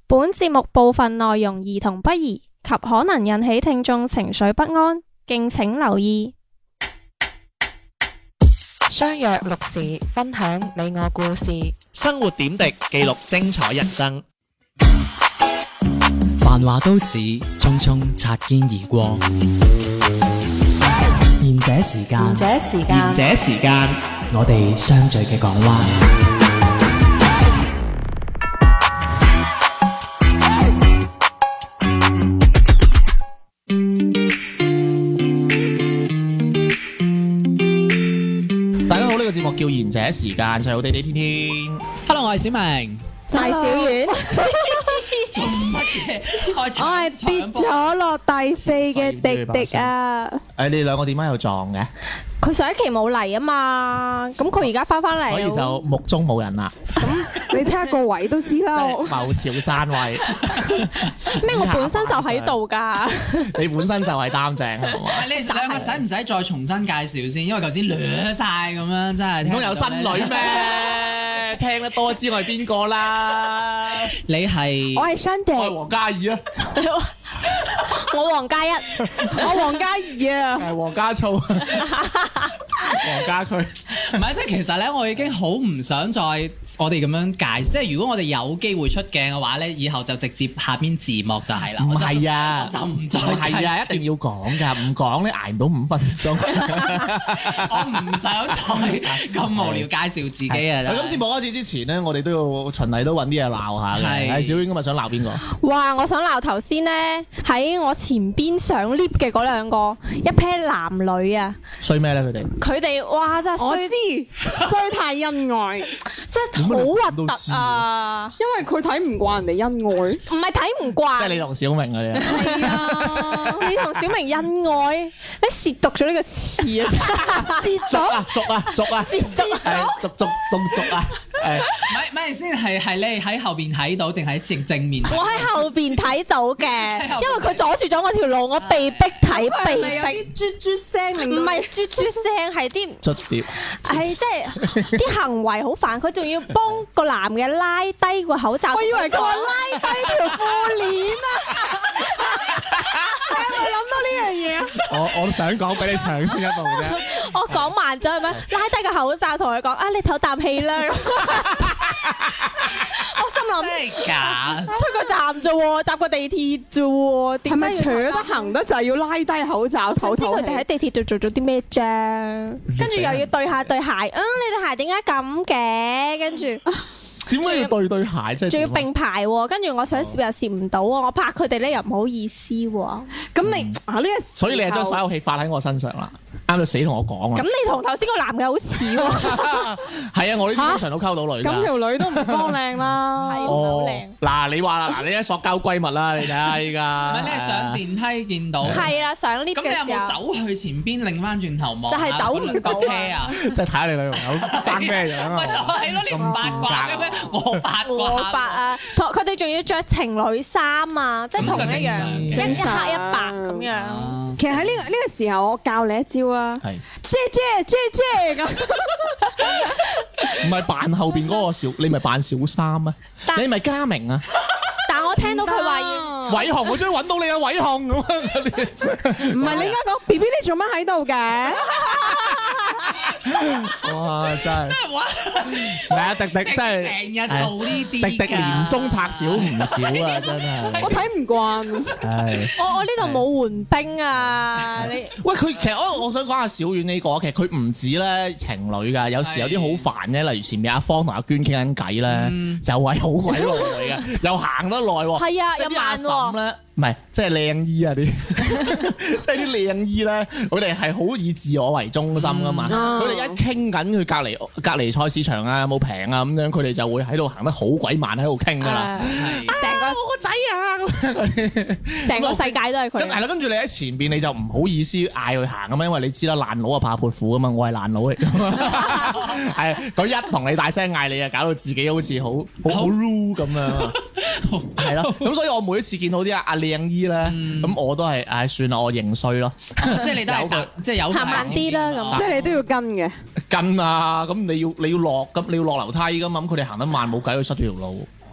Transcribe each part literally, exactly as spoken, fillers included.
本節目部分內容兒童不宜及可能引起聽眾情緒不安，敬請留意。 相約六時，分享你我故事， 生活點滴，記錄精彩人生。 繁華都市，匆匆擦肩而過。賢者時間， 賢者時間， 賢者時間， 我哋相聚嘅港灣。 節目叫賢者時間，細佬地地天天。 Hello，我係小明， 我係小丸。 做乜嘢？我係跌咗落第四嘅迪迪啊！ 誒，你哋兩個點解又撞嘅？ 佢上一期冇嚟啊嘛，咁佢而家翻翻嚟， 所以就目中冇人啦。 咁你睇下個位都知啦。 謀朝山位咩？我本身就喺度㗎。 你本身就係擔正係嘛？ 你哋兩個使唔使再重新介紹先？因為頭先掠晒咁樣，真係唔通有新女咩？聽得多知我係邊個啦？ 你係我係 Shandy， 我係黃嘉怡啊！ 我黃嘉一，我黃嘉怡啊！ 係黃家粗，黃家駒。 唔係，即係其實咧，我已經好唔想再我哋咁樣介紹。即係如果我哋有機會出鏡嘅話咧，以後就直接下邊字幕就係啦。 唔係啊， 我就唔再係啊，一定要講㗎，唔講咧捱唔到五分鐘。 我唔想再咁無聊介紹自己啊！ 喺今次冇開始之前咧，我哋都要循例都揾啲嘢鬧下嘅。係小婉今日想鬧邊個？ 哇！我想鬧頭先咧喺我前邊上 lift 嘅嗰兩個一 pair 男女啊！ 衰咩咧？佢哋佢哋哇真係衰， 我知衰太恩愛， 真係好核突啊！ 因為佢睇唔慣人哋恩愛， 唔係睇唔慣， 即係你同小明嗰啲。 係啊， 你同小明恩愛，你褻瀆咗呢個詞啊！褻俗啊俗啊俗啊， 褻瀆係俗俗動俗啊！誒， 咪咪先係係你喺後邊睇到定喺正正面？ 我喺後邊睇到嘅，因為佢阻住咗我條路，我被逼睇，被係咪有啲逼。 啜啜聲令到唔係啜啜聲，係啲捽碟， 係即係啲行為好煩，佢仲要幫個男嘅拉低個口罩。 我以為佢話拉低條褲鏈啊！你係咪諗到呢樣嘢啊？ 我我想講俾你搶先一步啫。 我講慢咗係咪？拉低個口罩同佢講啊，你唞啖氣啦。我心諗真係假？ 出個站啫喎，搭個地鐵啫喎， 係咪點解扯得行得就係要拉低口罩手知佢哋喺唞氣？ 地鐵度做咗啲咩啫？跟住又要對下對鞋，啊你對鞋點解咁嘅？跟住點解要對對鞋啫？ 仲要並排喎，跟住我想攝又攝唔到喎，我拍佢哋咧又唔好意思喎。 咁你啊呢個， 所以你係將所有戲發喺我身上啦，啱到死同我講啊！ 咁你同頭先個男嘅好似喎， 係啊，我呢啲通常都溝到女㗎。 咁條女都唔光靚啦， 係哦好靚。 嗱，你話啦，嗱，你啲塑膠閨蜜啦，你睇下依唔家。 係你係上電梯見到， 係啦，上 lift 咁你有嘅時候冇走去前邊擰翻轉頭望？ 就係走唔到啊個 pair 啊！ 即係睇下你女朋友生咩樣咪就啊？ 係咯，你唔八卦嘅咩？我八卦。 我白啊，同佢哋仲要着情侶衫啊，即係同一樣，一正常一黑一白咁樣。 其實喺呢個呢個時候，我教你一招啊係姐姐姐姐咁。 唔係扮後邊嗰個小，你咪扮小三啊？ 但你咪嘉明啊？ 但我聽到佢話要。 偉雄，我終於揾到你啊！偉雄咁啊！ 唔係你應該講 B B 你做乜喺度嘅？ 哇！真係真係玩， 唔係啊！迪迪真係成日做呢啲㗎迪迪年中拆少唔少啊！真係。 我睇唔慣。 係。 我我呢度冇援兵啊！你喂，佢其實我我想講下小遠呢個，其實佢唔止咧情侶㗎，有時有啲好煩嘅，例如前面阿芳同阿娟傾緊偈咧，又係好鬼耐嘅，又行得耐喎。 係啊，又即係啲阿慢喎。 嬸咧，唔係即係靚姨啊啲，即係啲靚姨咧，佢哋係好以自我為中心㗎嘛。 嗯佢哋一傾緊佢隔離隔離菜市場啊，有冇平啊咁樣，佢哋就會喺度行得好鬼慢喺度傾㗎啦。 誒成個我個仔啊咁樣， 成個世界都係佢。 跟係啦，跟住你喺前邊你就唔好意思嗌佢行咁嘛，因為你知啦，爛佬啊怕潑婦啊嘛，我係爛佬嚟㗎嘛。係佢一同你大聲嗌你啊，搞到自己好似好好好 rude 咁樣。係咯，咁所以我每一次見到啲阿阿靚姨咧，咁我都係唉算啦，我認衰咯。 即係你都係搭，即係有行慢啲啦咁即係你都要跟嘅。 跟啊，咁你要你要落咁你要落樓梯㗎嘛，咁佢哋行得慢冇計，佢塞住條路。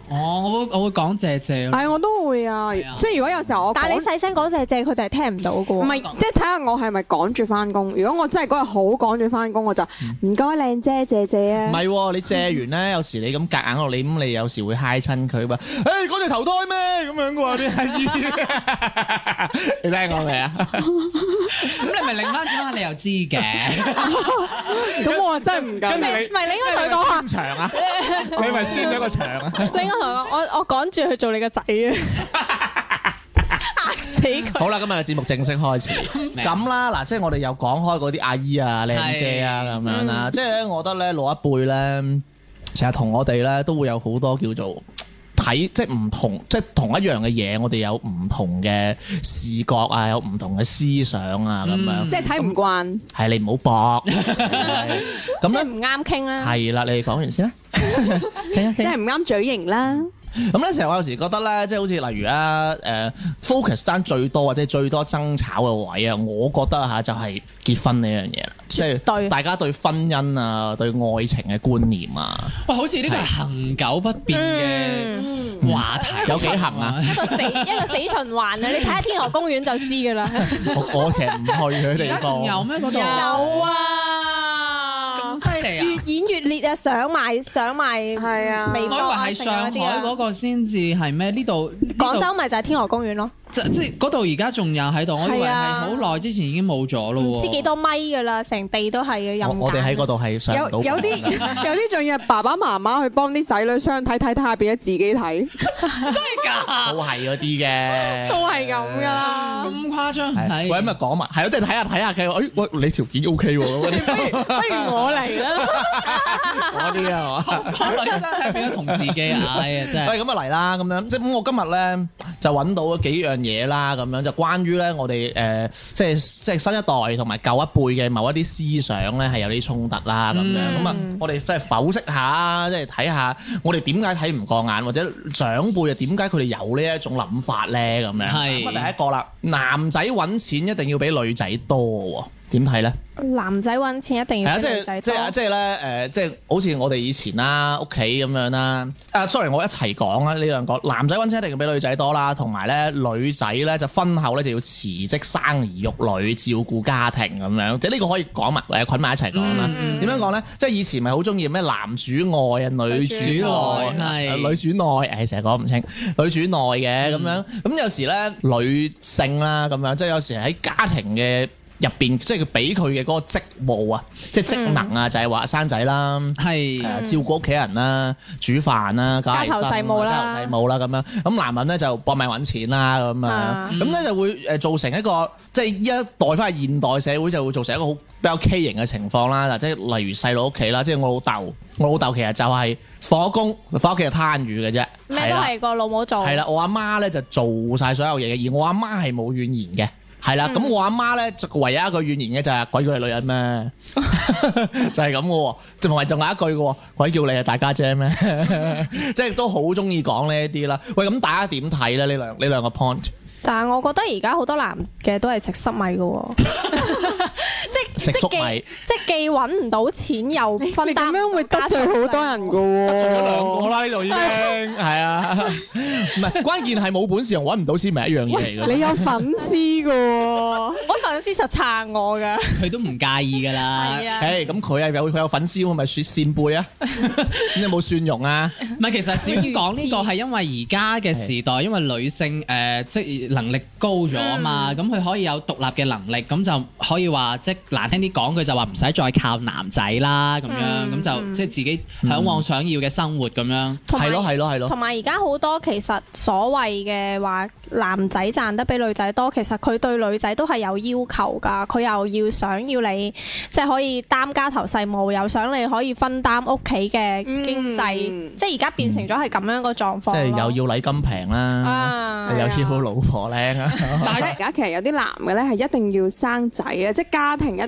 哦，我會我會講謝謝咯。 係我都會啊， 係啊即係如果有時候我但係你趕細聲講謝謝，佢哋係聽唔到嘅喎。 唔係，即係睇下我係咪趕住翻工。如果我真係嗰日好趕住翻工，我就唔該靚姐謝謝啊。 唔係喎，你借完咧，有時你咁夾硬落你咁，你有時會嗨親佢嘛？誒，嗰隻頭胎咩咁樣嘅喎啲阿姨，你聽過未啊？ 咁你咪擰翻轉下，你又知嘅。 咁我真係唔敢。 跟住你唔係你應該同佢講下， 長啊，你咪宣咗個場啊！ 你應該同佢講，我我趕住去做你個仔啊！嚇死佢！ 好啦，今日嘅節目正式開始。咁啦，嗱，即係我哋又講開嗰啲阿姨啊、靚姐啊咁樣啦。即係咧，我覺得咧老一輩咧，成日同我哋咧都會有好多叫做睇，即係唔同，即係同一樣嘅嘢，我哋有唔同嘅視覺啊，有唔同嘅思想啊咁樣。 即係睇唔慣。 係你唔好搏。咁咧即係唔啱傾啦。 係啦，你哋講完先啦。傾一傾。 即係唔啱嘴型啦。 咁咧，成日我有時覺得咧，即係好似例如啊，誒 focus 爭最多或者最多爭吵嘅位啊，我覺得嚇就係結婚呢樣嘢啦，即係大家對婚姻啊、對愛情嘅觀念啊， 喂，好似呢個係恆久不變嘅話題， 有幾行啊？ 一個死一個死循環啊！你睇下天河公園就知㗎啦。 我我其實唔去佢地而家仲有方。 咩嗰度？ 有啊！ 咁犀利啊！ 越演越烈啊！上埋上埋係啊我以為微博啊係上海嗰個。 個先至係咩？呢度廣州咪就係天河公園咯， 即即係嗰度而家仲有喺度，我以為係好耐之前已經冇咗咯喎。 唔知幾多米㗎啦，成地都係嘅。 我我哋喺嗰度係上唔到。 有有啲有啲仲要爸爸媽媽去幫啲仔女相睇睇睇下，變咗自己睇， 都係嗰啲嘅， 都係咁㗎啦。 咁誇張係。 係。 喂，咁啊講埋，係咯，即係睇下睇下佢，誒，喂，你條件 O K 喎，嗰啲不如我嚟啦。 嗰啲啊，係嘛？ 個女生係變咗同自己，哎呀真係。 喂，咁啊嚟啦，咁樣即係咁，我今日咧就揾到咗幾樣嘢啦，咁樣就關於咧我哋誒、呃，即係即係新一代同埋舊一輩嘅某一啲思想咧係有啲衝突啦，咁樣咁啊，我哋即係剖析下，即係睇下我哋點解睇唔過眼，或者長輩啊點解佢哋有呢一種諗法咧，咁樣。 係咁啊，第一個啦，男仔揾錢一定要比女仔多喎，點睇咧？ 男仔揾錢一定係啊，即要比女仔多。 係即係即係咧誒，即係好似我哋以前啦，屋企咁樣啦。啊，sorry，我一齊講啦，呢兩個男仔揾錢一定要比女仔多啦，同埋咧女仔咧就婚後咧就要辭職生兒育女，照顧家庭咁樣。即係呢個可以講埋誒捆埋一齊講啦。點樣講咧？即係以前咪好中意咩男主外啊，女主內係呃女主內，誒成日講唔清，女主內嘅咁樣。咁有時咧女性啦咁樣，即係有時喺家庭嘅入邊，即係佢俾佢嘅嗰個職務啊，即係職能啊，就係話生仔啦， 係誒照顧屋企人啦，煮飯啦，搞衞生家頭細務啦家頭細務啦咁樣。咁男人咧就搏命揾錢啦咁啊樣，咁咧就會誒造成一個即係依一代翻去現代社會就會造成一個好比較畸形嘅情況啦。嗱，即係例如細佬屋企啦，即係我老豆，我老豆其實就係放咗工翻屋企就攤魚嘅啫， 咩都係個老母做。 係啦，我阿媽咧就做晒所有嘢嘅，而我阿媽係冇怨言嘅。係啦，咁、嗯、我阿媽咧就唯一一個怨言嘅就係鬼叫你女人咩，就係咁嘅喎，同埋仲有一句嘅喎，鬼叫你係大家姐咩，即係都好中意講呢一啲啦。喂，咁大家點睇咧？呢兩呢兩個 point？ 但係我覺得而家好多男嘅都係食濕米嘅喎，即食粟即米既即既揾唔到錢又分擔， 你咁樣會得罪好多人㗎喎。 得罪咗兩個啦，呢度已經係啊，唔係關鍵係冇本事又揾唔到錢，咪一樣嘢嚟嘅。 你有粉絲㗎喎， 我粉絲實撐我㗎。 佢都唔介意㗎啦。 係啊， 誒咁佢係有佢有粉絲，咪算扇貝啊？咁有冇蒜蓉啊？ 唔係，其實小娟講呢個係因為而家嘅時代，因為女性誒、呃、即係能力高咗啊嘛，咁佢、嗯、可以有獨立嘅能力，咁就可以話即係難聽啲講句就話唔使再靠男仔啦，咁樣咁、嗯、就即係自己嚮往想要嘅生活咁樣。 係咯係咯係咯。 同埋而家好多其實所謂嘅話男仔賺得比女仔多，其實佢對女仔都係有要求㗎，佢又要想要你即係可以擔家頭細務，又想你可以分擔屋企嘅經濟， 嗯、 即係而家變成咗係咁樣個狀況。 即係又要禮金平啦， 啊、 又要老婆靚啊！ 但係而家其實有啲男嘅咧係一定要生仔啊，即係家庭一定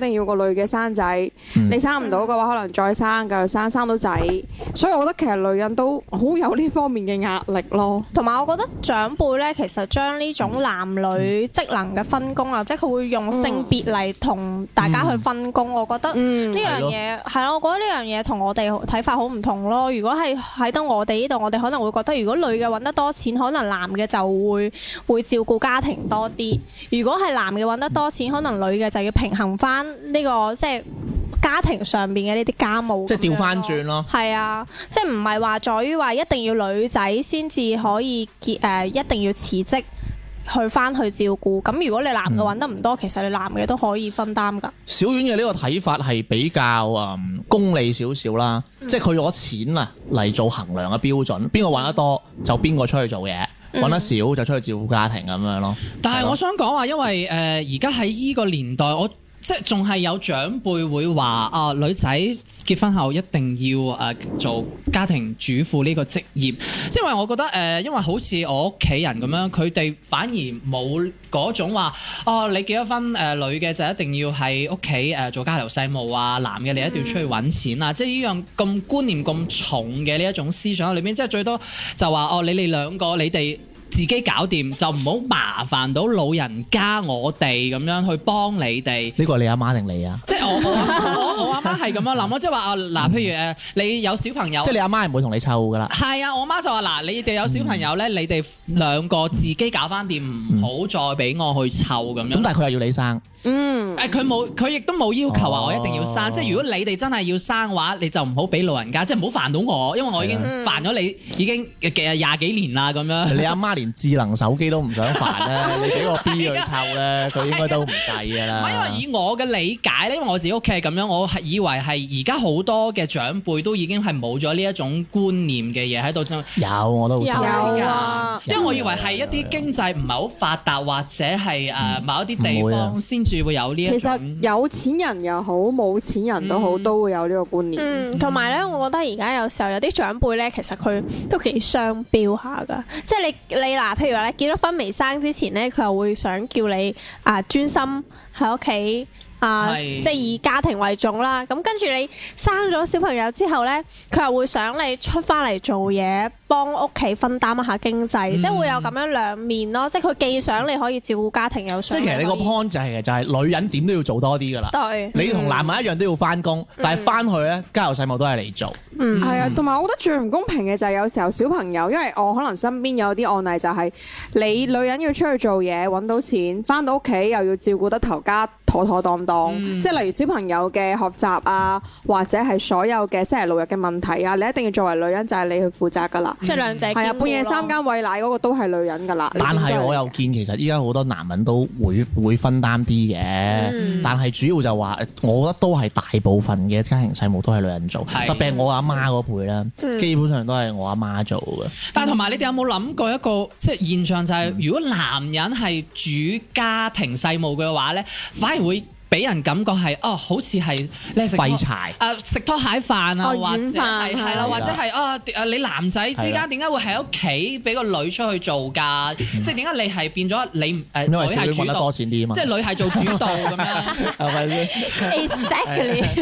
定要個女嘅生仔， 嗯你生唔到嘅話，可能再生繼續生，生到仔。所以我覺得其實女人都好有呢方面嘅壓力咯。 同埋我覺得長輩咧，其實將呢種男女職能嘅分工啊，即係佢會用性別嚟同大家去分工，我覺得嗯呢樣嘢係咯，我覺得呢樣嘢同我哋睇法好唔同咯。如果係喺到我哋呢度，我哋可能會覺得，如果女嘅揾得多錢，可能男嘅就會會照顧家庭多啲；如果係男嘅揾得多錢，可能女嘅就要平衡翻呢個即係家庭上邊嘅呢啲家務。 即係調翻轉咯。 係啊，即係唔係話在於話一定要女仔先至可以結誒、呃，一定要辭職去翻去照顧。咁如果你男嘅揾得唔多，其實你男嘅都可以分擔㗎。 小丸嘅呢個睇法係比較嗯功利少少啦，即係佢攞錢啊嚟做衡量嘅標準，邊個揾得多就邊個出去做嘢，揾得少就出去照顧家庭咁樣咯。 但係我想講話，因為誒而家喺依個年代，我即係仲係有長輩會話啊，女仔結婚後一定要誒、呃、做家庭主婦呢個職業，即係因為我覺得誒、呃，因為好似我屋企人咁樣，佢哋反而冇嗰種話哦，你結咗婚誒、呃、女嘅就一定要喺屋企誒做家頭細務啊，男嘅你一定要出去揾錢啊，嗯、即係呢樣咁觀念咁重嘅呢一種思想喺裏邊，即係最多就話哦，你哋兩個你哋自己搞掂，就唔好麻煩到老人家我哋咁樣去幫你哋。 呢個係你阿媽定你啊？ 即係我我我我阿媽係咁樣諗咯，即係話啊嗱，譬如誒你有小朋友， 即係你阿媽係唔會同你湊噶啦。 係啊，我媽就話嗱，你哋有小朋友咧，你哋兩個自己搞翻掂，唔好再俾我去湊咁樣。 咁但係佢又要你生。 嗯， 誒佢冇，佢亦都冇要求話我一定要生， 哦、 即係如果你哋真係要生嘅話，你就唔好俾老人家，即係唔好煩到我，因為我已經煩咗你已經嘅廿幾年啦咁樣。 你阿媽連智能手機都唔想煩咧，你俾個 B 佢湊咧，佢應該都唔制㗎啦。 唔係因為以我嘅理解咧，因為我自己屋企係咁樣，我係以為係而家好多嘅長輩都已經係冇咗呢一種觀念嘅嘢喺度啫。 有我都好有有啊， 因為我以為係一啲經濟唔係好發達或者係誒某一啲地方先至會有呢一種。 其實有錢人又好，冇錢人都好，都會有呢個觀念。 嗯，同埋咧，我覺得而家有時候有啲長輩咧，其實佢都幾雙標下噶。即係你你嗱，譬如話你結咗婚未生之前咧，佢又會想叫你啊專心喺屋企。啊， 是即係以家庭為重啦。咁跟住你生咗小朋友之後呢，佢又會想你出翻嚟做嘢，幫屋企分擔一下經濟， 嗯、 即係會有咁樣兩面咯。即係佢既想你可以照顧家庭，又想即係其實你個 point 就係、係、就係、女人點都要做多啲㗎啦。 對， 你同男人一樣都要翻工，嗯、但係翻去咧家頭細務都係你做。 嗯， 係啊，同埋我覺得最唔公平嘅就係有時候小朋友，因為我可能身邊有啲案例就係你女人要出去做嘢揾到錢，翻到屋企又要照顧得頭家妥妥當當， 嗯、 即係例如小朋友嘅學習啊，或者係所有嘅星期六日嘅問題啊，你一定要作為女人就係你去負責㗎啦。 即係兩者係啊，半夜三更餵奶嗰個都係女人㗎啦。 但係我又見其實依家好多男人都會會分擔啲嘅， 嗯、 但係主要就話，我覺得都係大部分嘅家庭細務都係女人做， 係特別係我阿媽嗰輩咧， 嗯、 基本上都係我阿媽做嘅。 但係同埋你哋有冇諗過一個即係現象就係、是，如果男人係主家庭細務嘅話咧，反而會俾人感覺係哦，好似係你食廢柴誒食拖鞋飯啊， 哦或者係軟飯係啦， 係或者係啊誒你男仔之間點解會喺屋企俾個女出去做㗎？即係點解你係變咗你誒女因為小係主導女揾得多，錢啲啊嘛， 即係女係做主導咁樣。 係咪先 exactly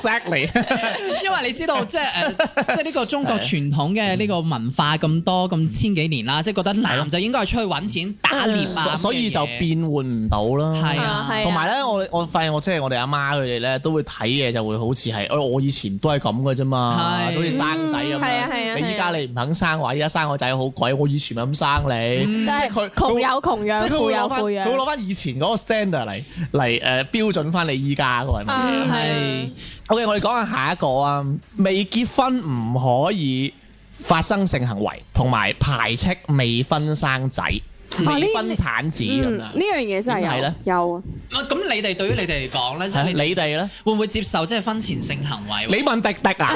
？Exactly， 因為你知道即係誒，即係呢個中國傳統嘅呢個文化咁多咁千幾年啦，即係覺得男就應該係出去揾錢打獵啊， 所以就變換唔到啦。 係啊係啊同埋咧，我我發現我即係我哋阿媽佢哋咧都會睇嘢，就會好似係，誒我以前都係咁嘅啫嘛， 係好似生仔咁係啊係樣。 啊你依家你唔肯生話，依家生個仔好貴，我以前咪咁生你。 即係佢窮有窮養， 即係佢富有會攞翻，佢富養。 會攞翻以前嗰個 standard 嚟嚟誒標準翻你依家嗰個係乜嘢？ 嗯係 OK，我哋講下下一個啊，未結婚唔可以發生性行為，同埋排斥未婚生仔、未婚產子咁樣。 嗯呢樣嘢真係有點睇咧有啊。 咁你哋對於你哋嚟講咧，即係係你你哋咧？ 會唔會接受即係婚前性行為？ 你問迪迪啊？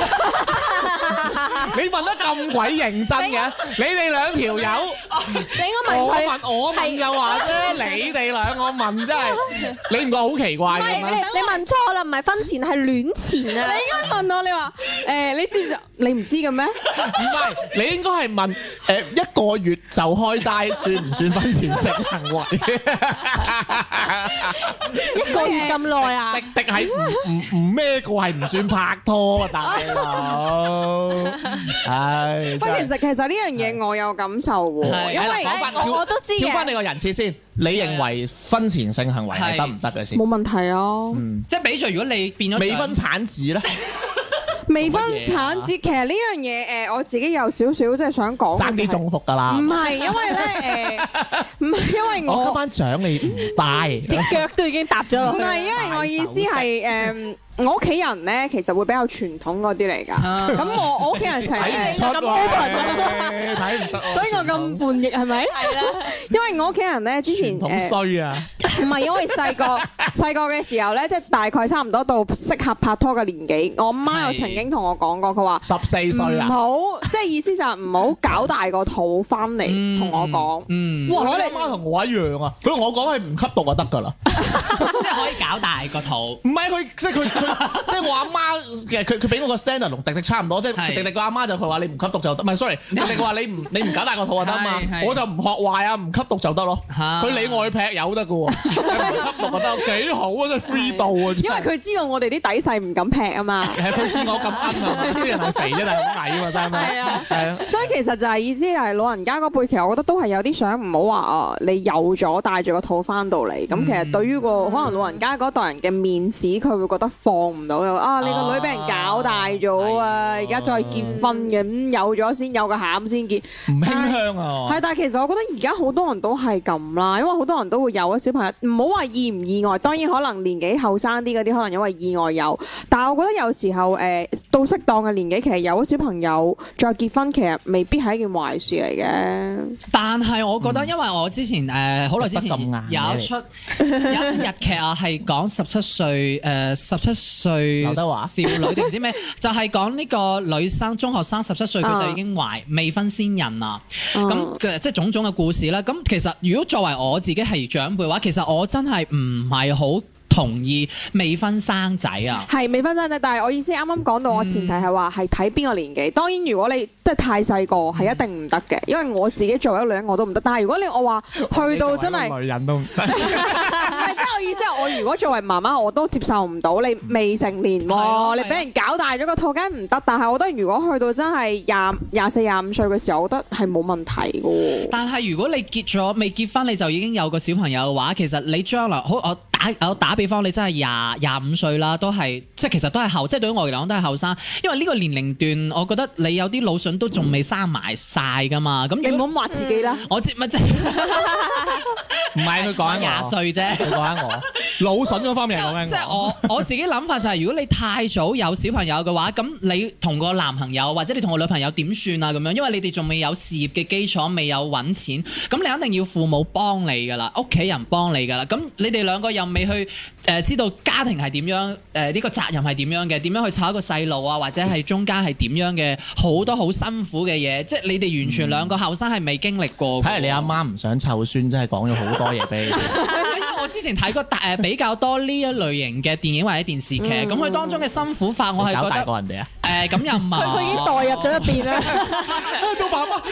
你問得咁鬼認真嘅？你哋兩條友， 你應該問佢， 問我問就話啫，你哋兩個問真係，你唔覺得好奇怪嘅唔係你咩？ 你問錯啦，唔係婚前係戀前啊！ 你應該問我，你話誒，你知唔知？你唔知嘅咩？ 唔係，你應該係問誒一個月就開齋算唔算婚前性行為？ 一個月咁耐啊！ 滴滴係唔唔唔咩個係唔算拍拖啊，大佬。唉， 不過其實其實呢樣嘢我有感受喎， 係因為講翻我我都知嘅跳翻你個人設先，你認為婚前性行為係得唔得嘅先？ 冇問題啊。 嗯， 即係比著如果你變咗未婚產子咧， 未婚產子其實呢樣嘢誒，我自己有少少即係想講嘅就係， 爭啲中伏㗎啦唔。係因為咧誒，唔係因為我今我晚獎你唔帶， 隻腳都已經搭咗落去。 唔係因為我意思係誒，我屋企人咧其實會比較傳統嗰啲嚟㗎。 啊咁我我屋企人成睇唔日出喎，睇唔出喎。 所以我咁叛逆係咪？係啦，因為我屋企人咧之前傳統誒衰啊！ 唔係因為細個細個嘅時候咧，即係大概差唔多到適合拍拖嘅年紀，我媽有曾經同我講過，佢話十四歲唔啊！ 好，即係意思就係唔好搞大個肚翻嚟同我講。 嗯， 哇！你阿媽同我一樣啊！佢同我講係唔吸毒就得㗎啦。 即係可以搞大個肚。 唔係佢，即係佢佢，即係我阿媽其實佢佢俾我個 standard 同迪迪差唔多，即係係迪迪個阿媽就佢話你唔吸毒就得，唔係 sorry，迪迪話你唔你唔搞大個肚就得嘛係，係我就唔學壞啊，唔吸毒就得咯。 嚇佢理我去劈友得㗎喎，你唔吸毒就得，幾好啊！真係 free 到啊！ 因為佢知道我哋啲底細唔敢劈啊嘛。 係佢見我咁奀係咪？雖然係肥啫，但係好矮啊嘛，真係。 係啊， 係啊。 所以其實就係意思係老人家嗰輩，其實我覺得都係有啲想唔好話啊，你有咗帶住個肚翻到嚟，咁其實對於個可能老人家嗰代人嘅面子，佢會覺得放唔到又啊，你個女俾人搞大咗啊，而家再結婚嘅，咁有咗先有個餡先結。 唔馨香啊！ 係，但係其實我覺得而家好多人都係咁啦，因為好多人都會有咗小朋友，唔好話意唔意外，當然可能年紀後生啲嗰啲可能因為意外有，但係我覺得有時候誒、呃、到適當嘅年紀，其實有咗小朋友再結婚，其實未必係一件壞事嚟嘅。 但係我覺得，因為我之前誒好耐之前得咁硬嘅有一出有一出日劇啊，係講十七歲誒十七歲劉德華少女定唔知咩，就係講呢個女生中學生十七歲佢就已經懷未婚先孕啊。咁嗯嘅即係種種嘅故事啦。咁其實如果作為我自己係長輩嘅話，其實我真係唔係好同意未婚生仔啊。 係未婚生仔，但係我意思啱啱講到，我前提係話係睇邊個年紀。當然，如果你即係太細個，係一定唔得嘅，因為我自己作為一個女人我都唔得。但係如果你我話去到真係， 女人都唔得。 唔係即係我意思係，我如果作為媽媽，我都接受唔到你未成年係咯喎，你俾人搞大咗個肚，梗係唔得。但係我覺得如果去到真係廿廿四廿五歲嘅時候，我覺得係冇問題嘅喎。 但係如果你結咗未結婚你就已經有個小朋友嘅話，其實你將來好我打我打比方，你真係廿廿五歲啦，都係即係其實都係後，即係對於我嚟講都係後生，因為呢個年齡段，我覺得你有啲腦筍都仲未生埋晒噶嘛。咁如果你唔好話自己啦。 我知咪即係唔係佢講緊我， 廿歲啫。 佢講緊我腦筍嗰方面係講緊即係我我自己諗法就係，如果你太早有小朋友嘅話，咁你同個男朋友或者你同個女朋友點算啊？咁樣，因為你哋仲未有事業嘅基礎，未有揾錢，咁你肯定要父母幫你噶啦，屋企人幫你噶啦。咁你哋兩個又未去誒、呃、知道家庭係點樣，誒、呃、呢、呢個責任係點樣嘅，點樣去湊一個細路啊，或者係中間係點樣嘅好多好辛苦嘅嘢，即係你哋完全兩個後生係未經歷過。 睇嚟你阿媽唔想湊孫，真係講咗好多嘢俾你。 因為我之前睇過大誒比較多呢一類型嘅電影或者電視劇，咁佢、當中嘅辛苦法，我係搞大覺得過人哋啊！ 誒咁又唔係。 佢已經代入咗入邊啦。 做爸爸，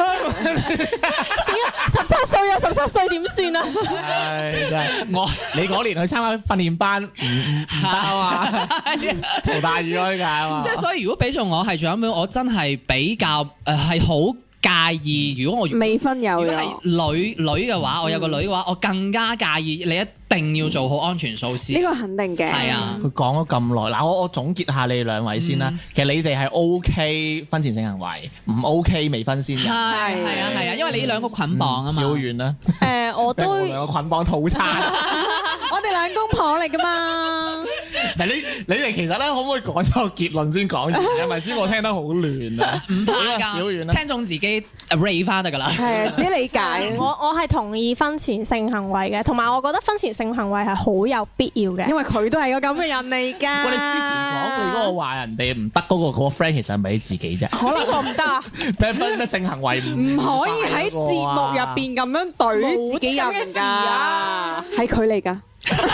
十七歲啊，十七歲點算啊？ 唉，真係我你嗰年去參加訓練班，唔唔唔得啊嘛，陶大宇開㗎啊嘛。 即係所以，如果俾咗我係長輩，我真係比較誒係好介意。如果我未婚有如果咗係女女嘅話，我有個女嘅話，我更加介意。你一定要做好安全措施。 呢個肯定嘅。 係啊佢講咗咁耐，嗱我我總結下你哋兩位先啦。其實你哋係 O K 婚前性行為，唔 O K 未婚先係嘅。 係啊係啊，因為你兩個捆綁啊嘛。 小遠啦， 誒，我都兩個捆綁套餐。 我哋兩公婆嚟噶嘛。 嗱，你你哋其實咧，可唔可以講咗個結論先講完？係咪先？我聽得好亂啊！ 唔怕小遠㗎， 啦， 聽眾自己 rate 翻得㗎啦。 係啊，自己理解。 我我係同意婚前性行為嘅，同埋我覺得婚前性行為係好有必要嘅。 因為佢都係個咁嘅人嚟㗎。 喂，你之前講你嗰個話人哋唔得嗰個嗰個 friend，其實係咪你自己啫？ 可能我唔得啊！ 咩咩咩性行為唔唔可以喺節目入邊咁樣對自己人冇啲咁嘅事㗎啊， 係佢嚟㗎。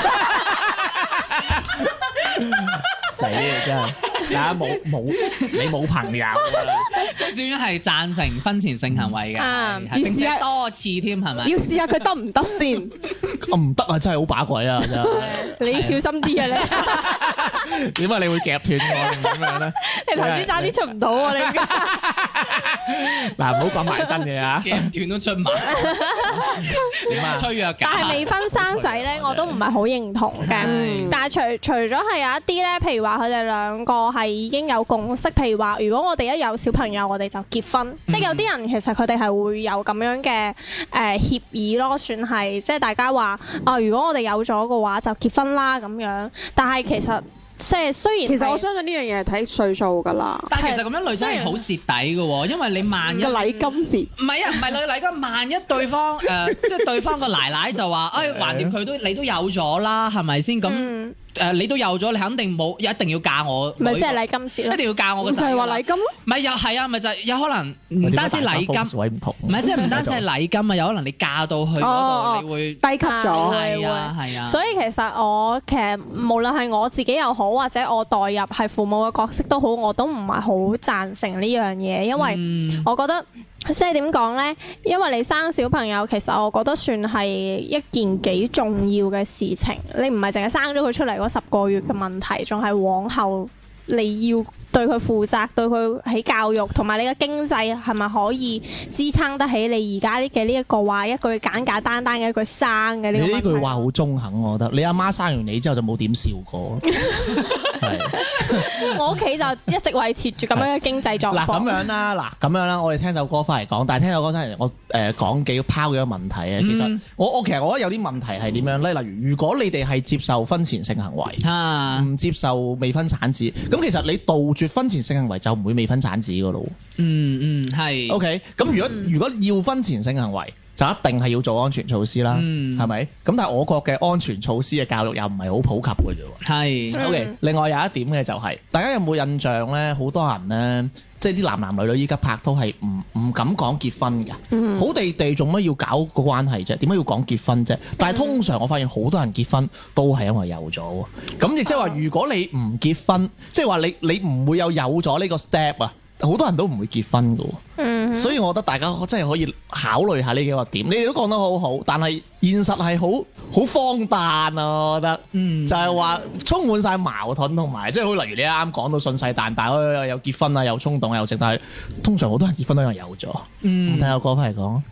死啊！真係，大家冇冇你冇朋友啊！ 即係小遠係贊成婚前性行為嘅， 嗯係並且多次添，係咪？ 要試下佢得唔得先？ 我唔得啊！真係好把鬼啊！真係你小心啲啊你！ 點解你會夾斷我定咁樣咧？ 你頭先差啲出唔到喎你而家。 嗱，唔好講埋真嘢啊！ 夾斷都出埋， 點啊？ 吹弱但係架。 未婚生仔咧，我都唔係好認同嘅。 嗯但係除除咗係有一啲咧，譬如話佢哋兩個係已經有共識，譬如話如果我哋一有小朋友，我哋就結婚。即係有啲人其實佢哋係會有咁樣嘅誒協議咯，算係即係大家話啊，如果我哋有咗嘅話就結婚啦咁樣。但係其實即係雖然其實我係相信呢樣嘢係睇歲數㗎啦。 但係其實咁樣女仔係好蝕底嘅喎，因為你萬一個禮金蝕。 唔係啊，唔係女禮金，萬一對方誒、呃，即係對方個奶奶就話，誒橫掂佢都你都有咗啦，係咪先？咁誒、 嗯呃、你都有咗，你肯定冇一定要嫁我， 咪即係禮金蝕咯一。定要嫁我個就係仔㗎啦。 話禮金咯。 唔係又係啊，咪就係有可能唔單止禮金， 位唔同， 唔係即係唔單止係禮金啊，有可能你嫁到去嗰哦度，你會低級咗。 係啊係啊， 所以其實我其實無論係我自己又好，或者我代入係父母嘅角色都好，我都唔係好贊成呢樣嘢，因為嗯我覺得即係點講呢？因為你生小朋友，其實我覺得算係一件幾重要嘅事情。你唔係淨係生咗佢出嚟嗰十個月嘅問題，仲係往後你要對佢負責，對佢喺教育同埋你嘅經濟係咪可以支撐得起你而家呢嘅呢一個話一句簡簡單單嘅一句生嘅呢個問題？ 你呢句話好中肯，我覺得。你阿媽生完你之後就冇點笑過，係。 我屋企就一直維持住咁樣嘅經濟狀嗱咁況。 樣啦，嗱咁樣啦，我哋聽首歌翻嚟講，但係聽首歌翻嚟，我誒講幾拋幾個問題啊。其實嗯我我其實我覺得有啲問題係點樣咧？例如，如果你哋係接受婚前性行為， 啊， 唔接受未婚產子，咁其實你杜絕婚前性行為就唔會未婚產子噶咯。 嗯嗯係 OK，咁如果如果要婚前性行為，就一定係要做安全措施啦， 嗯係咪？咁但係我國嘅安全措施嘅教育又唔係好普及嘅啫喎。 係嗯 O.K. 另外有一點嘅就係、大家有冇印象咧？好多人咧，即係啲男男女女依家拍拖係唔唔敢講結婚㗎。 嗯好地地做乜要搞個關係啫？點解要講結婚啫？但係通常我發現好多人結婚都係因為有咗喎。咁亦即係話，如果你唔結婚，即係話你你唔會有有咗呢個 step 啊。好多人都唔會結婚㗎喎。 嗯， 所以我覺得大家真係可以考慮下呢幾個點。你哋都講得好好，但係現實係好好荒誕啊！我覺得， 嗯就係話充滿晒矛盾同埋，即係好例如你啱啱講到信誓旦旦，又有結婚啊，有衝動又食，但係通常好多人結婚都因為有咗。 嗯咁睇下歌翻嚟講。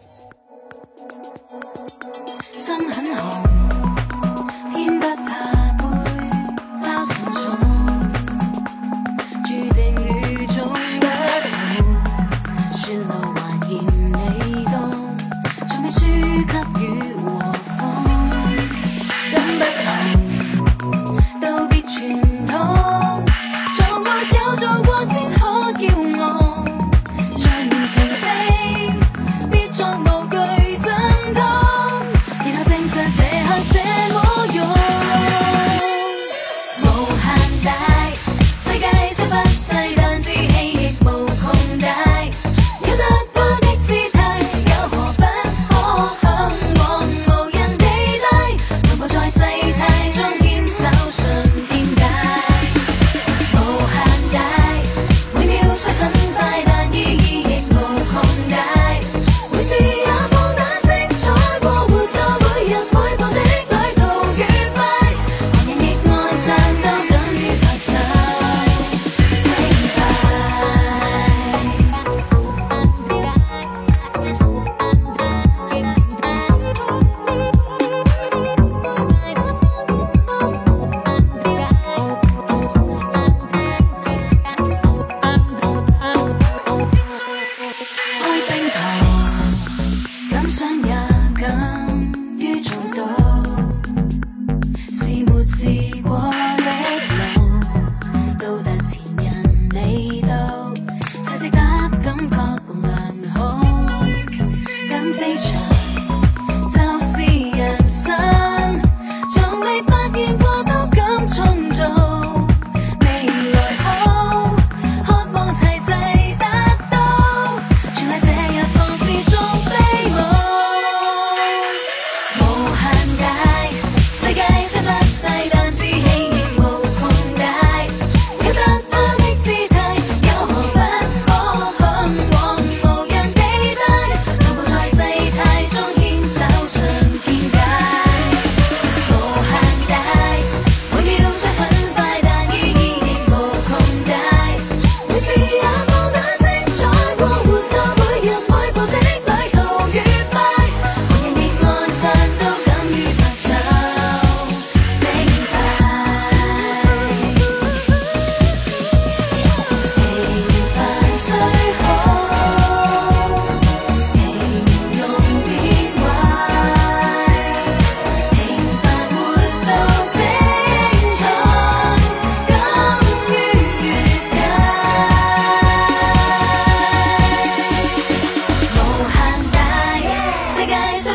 心很紅，偏不怕背包沉重，注定與眾不同，雪路還嫌你多，從未輸給雨和風，跟不同，道別傳統，從沒有做過先可驕傲，在面前飛，必作無懼震盪。然後證實這刻這麼勇，無限大，世界雖不細，但志氣亦無窮大。有突破的姿態，有何不可向往？無人地帶，同步在世態中堅守信天界。無限大，每秒雖很快，但意義亦無窮大。每次也放膽精彩過活過每日每步的旅途愉快，旁人亦愛讚都等於拍手稱開正途，敢想也敢於做到，是沒試過的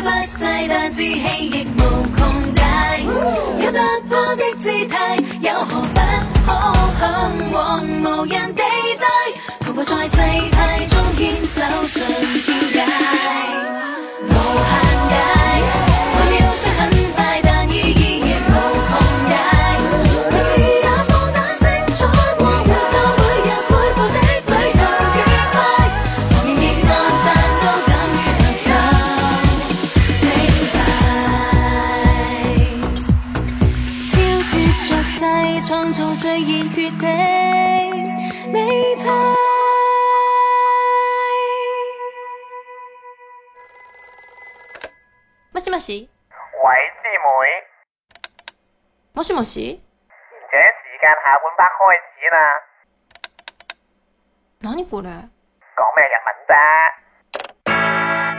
不細，但志氣亦無窮大。有突破的姿態，有何不可向往無人地帶？徒步在世態中堅守上跳界，無限大。每秒雖很快，但意義亦無窮大。每次也放膽精彩，過活到每日每步的旅途愉快。旁人亦按讚都敢於合奏精彩，超脫俗世，創造最現決的美態。 もしもし。 喂，師妹， もしもし。 賢者時間下半 part 開始啦， 何これ。 講咩日文啫？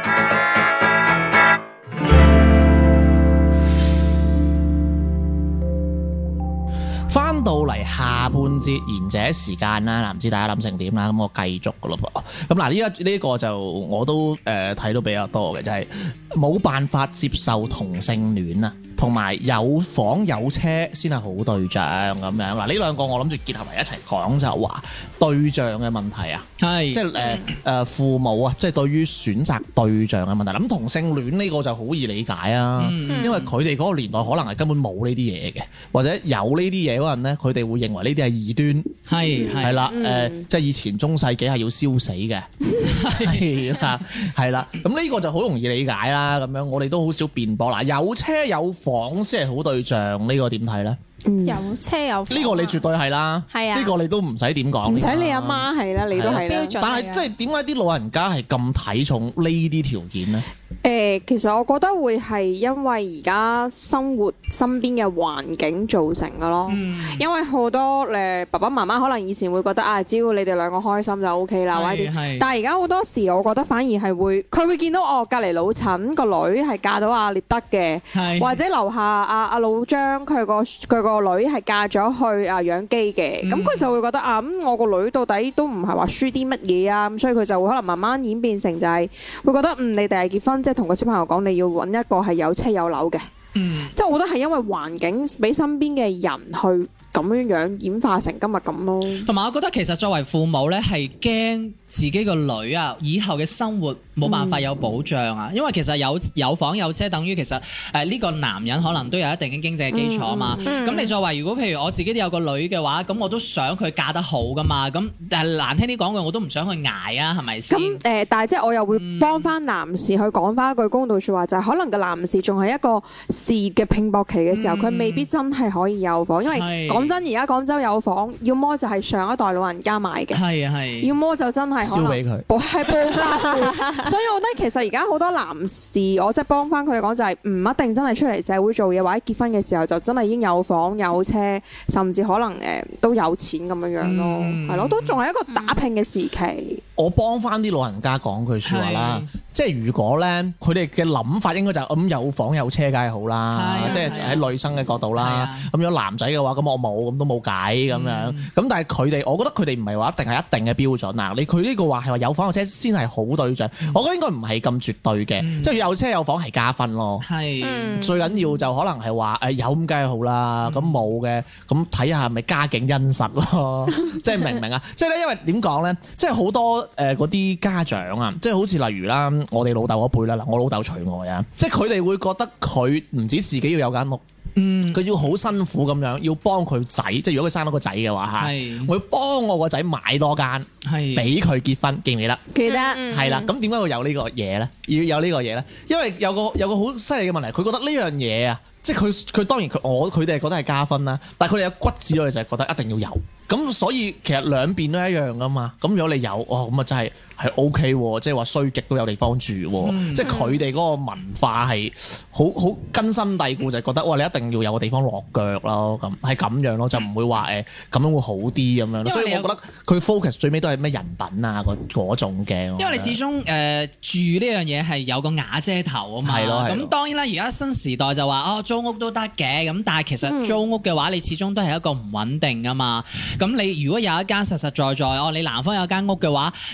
翻到嚟下半節賢者時間啦，嗱唔知大家諗成點啦，咁我繼續噶咯噃。咁嗱呢一呢個就我都誒睇、呃、到比較多嘅，就係、是、冇辦法接受同性戀啊，同埋有房有車先係好對象咁樣。嗱呢兩個我諗住結合埋一齊講，就話對象嘅問題啊， 係即係誒誒父母啊，即係對於選擇對象嘅問題。咁同性戀呢個就好易理解啊， 嗯、 因為佢哋嗰個年代可能係根本冇呢啲嘢嘅，或者有呢啲嘢嗰陣咧，佢哋會認為呢啲係異端， 係係啦，誒、 嗯呃，即係以前中世紀係要燒死嘅，係啦，係啦，咁呢個就好容易理解啦。咁樣我哋都好少辯駁。嗱，有車有房先係好對象，呢、呢個點睇咧？ 有車有房呢個你絕對係啦， 係啊呢個你都唔使點講， 唔使你阿媽係啦，你都係啦標準。 但係即係點解啲老人家係咁睇重呢啲條件咧？ 誒、其實我覺得會係因為而家生活身邊嘅環境造成嘅咯。 嗯因為好多誒爸爸媽媽可能以前會覺得啊，只要你哋兩個開心就 O K 啦，或者點係但係而家好多時，我覺得反而係會佢會見到哦，隔離老陳個女係嫁到阿列德嘅， 係或者樓下阿阿老張佢個佢個女係嫁咗去啊養雞嘅，咁佢、 嗯就會覺得啊，咁、我個女到底都唔係話輸啲乜嘢啊，咁所以佢就會可能慢慢演變成就係會覺得嗯，你哋係結婚，即係同個小朋友講你要揾一個係有車有樓嘅， 嗯即係我覺得係因為環境俾身邊嘅人去咁樣樣演化成今日咁咯。 同埋我覺得其實作為父母咧，係驚自己個女啊以後嘅生活冇辦法有保障啊，因為其實有有房有車，等於其實誒呢個男人可能都有一定嘅經濟基礎啊嘛。咁、你作為如果譬如我自己都有個女嘅話，咁我都想佢嫁得好噶嘛。咁但係難聽啲講句，我都唔想去捱啊，係咪先？ 咁誒、呃但係即係我又會幫翻男士去講翻一句公道説話，就係、可能個男士仲係一個事業嘅拼搏期嘅時候，佢、 嗯未必真係可以有房，因為係講真，而家廣州有房，要麼就係上一代老人家買嘅， 係啊係。 要麼就真係可能燒俾佢。 報係報家戶，所以我覺得其實而家好多男士，我即係幫翻佢哋講就係唔一定真係出嚟社會做嘢，或者結婚嘅時候就真係已經有房有車，甚至可能誒、呃都有錢咁樣樣咯， 嗯係咯、都仲係一個打拼嘅時期。 我幫翻啲老人家講句説話啦，即係如果咧佢哋嘅諗法應該就係、咁有房有車梗係好啦， 係啊即係喺女生嘅角度啦係啊。 咁如果男仔嘅話，咁我冇咁都冇計咁樣。咁、 嗯但係佢哋，我覺得佢哋唔係話一定係一定嘅標準啊。你佢呢個話係話有房有車先係好對象，我覺得應該唔係咁絕對嘅， 嗯即係有車有房係加分咯。 係。 嗯最緊要就可能係話誒有咁梗係好啦，咁冇嘅咁睇下係咪家境殷實咯，即係明唔明啊？即係咧，因為點講咧，即係好多誒嗰啲家長啊，即係好似例如啦，我哋老豆嗰輩啦，嗱我老豆除外啊，即係佢哋會覺得佢唔止自己要有間屋。 嗯佢要好辛苦咁樣，要幫佢仔，即係如果佢生到個仔嘅話嚇， 係我要幫我個仔買多間， 係俾佢結婚，記唔記得？ 記得係啦，咁點解會有呢個嘢咧？要有呢個嘢咧？因為有個有個好犀利嘅問題，佢覺得呢樣嘢啊，即係佢佢當然佢我佢哋係覺得係加分啦，但係佢哋有骨子裏就係覺得一定要有。咁所以其實兩邊都一樣噶嘛。咁如果你有，哦咁啊真係係 O K 喎，即係話衰極都有地方住喎。 嗯即係佢哋嗰個文化係好好根深蒂固，就係覺得哇你一定要有個地方落腳咯，咁係咁樣咯，就唔會話誒咁樣會好啲咁樣咯。 因為你有所以我覺得佢 focus 最尾都係咩人品啊嗰嗰種嘅。 因為你始終誒、呃、住呢樣嘢係有個瓦遮頭啊嘛， 係咯係咯咁當然啦，而家新時代就話哦租屋都得嘅，咁但係其實租屋嘅話，你始終都係一個唔穩定啊嘛。咁你如果有一間實實在在哦，你男方有間屋嘅話，咁起碼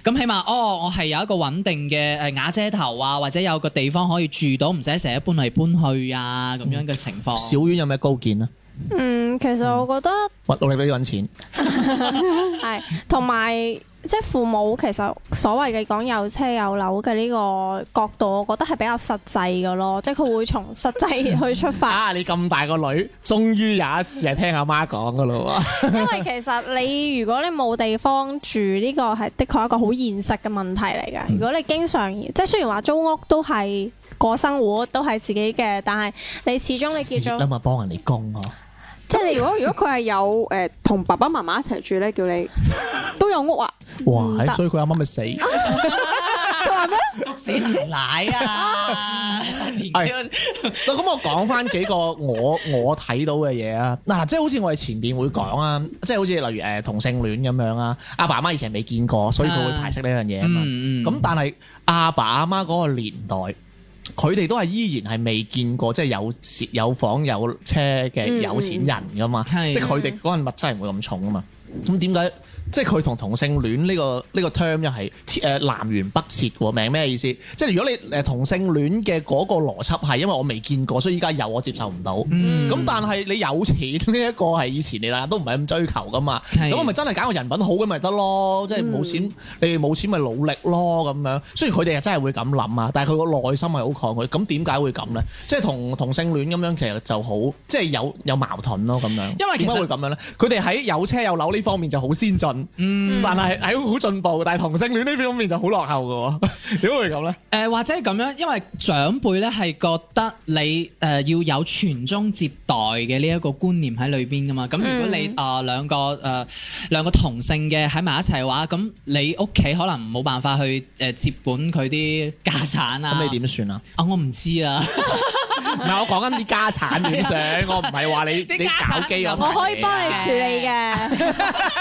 哦，我係有一個穩定嘅誒瓦遮頭啊，或者有個地方可以住到，唔使成日搬嚟搬去啊咁樣嘅情況。 小丸有咩高見啊？ 嗯，其實我覺得揾努力俾啲揾錢。 係，同埋即係父母其實所謂嘅講有車有樓嘅呢個角度，我覺得係比較實際嘅咯，即係佢會從實際去出發。 啊！你咁大個女，終於有一次係聽阿媽講噶咯喎。 因為其實你如果你冇地方住，呢個係的確一個好現實嘅問題嚟嘅。如果你經常即係雖然話租屋都係過生活，都係自己嘅，但係你始終你結咗， 蝕啊嘛，幫人哋供啊。 即係你如果如果佢係有誒同爸爸媽媽一齊住咧，叫你都有屋啊？ 哇！ 唔得所以佢阿媽咪死。 佢話咩？ 篤死奶奶啊！ 係咁我講翻幾個我我睇到嘅嘢啊。嗱，即係好似我哋前邊會講啊，即係好似例如誒同性戀咁樣啊。阿爸阿媽以前未見過，所以佢會排斥呢樣嘢啊嘛。 嗯嗯咁但係阿爸阿媽嗰個年代，佢哋都係依然係未見過，即係有錢有房有車嘅有錢人噶嘛。 係即係佢哋嗰陣物質係唔會咁重啊嘛。咁點解？即係佢同同性戀呢個呢個 term 又係誒南轅北轍喎，明咩意思？即係如果你誒同性戀嘅嗰個邏輯係因為我未見過，所以依家有我接受唔到。咁、 嗯但係你有錢呢一個係以前你大家都唔係咁追求噶嘛。 係咁我咪真係揀個人品好嘅咪得咯，即係冇錢， 嗯你哋冇錢咪努力咯咁樣。雖然佢哋係真係會咁諗啊，但係佢個內心係好抗拒。咁點解會咁咧？即係同同性戀咁樣其實就好，即係有有矛盾咯咁樣。 因為其實點解會咁樣咧？佢哋喺有車有樓呢方面就好先進。 嗯但係係好進步，但係同性戀呢方面就好落後嘅喎，點會咁咧？ 誒、呃、或者係咁樣，因為長輩咧係覺得你誒、呃、要有傳宗接代嘅呢一個觀念喺裏邊噶嘛。咁如果你啊、呃、兩個誒、呃、兩個同性嘅喺埋一齊嘅話，咁你屋企可能冇辦法去誒、呃、接管佢啲家產啊。 咁你點算啊？ 啊，我唔知啊。 唔係我講緊啲家產點算，我唔係話你你啲家產搞基嗰我可以幫你處理嘅。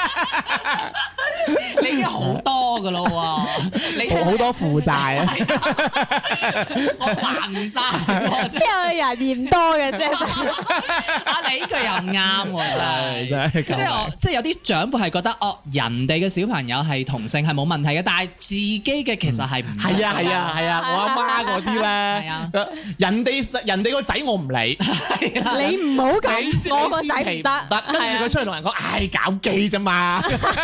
你已經好多噶咯喎，你好好多負債啊！ 我還唔晒喎，真係邊有人嫌多嘅啫？ 啊！你呢句又啱喎，真係。 真係即係我，即係有啲長輩係覺得，哦，人哋嘅小朋友係同性係冇問題嘅，但係自己嘅其實係唔得㗎係啊係啊係啊！我阿媽嗰啲係啊咧，人哋人哋個仔我唔理， 你唔好咁， 你我個仔唔得， 得，跟住佢出去同人講，唉搞基啫嘛。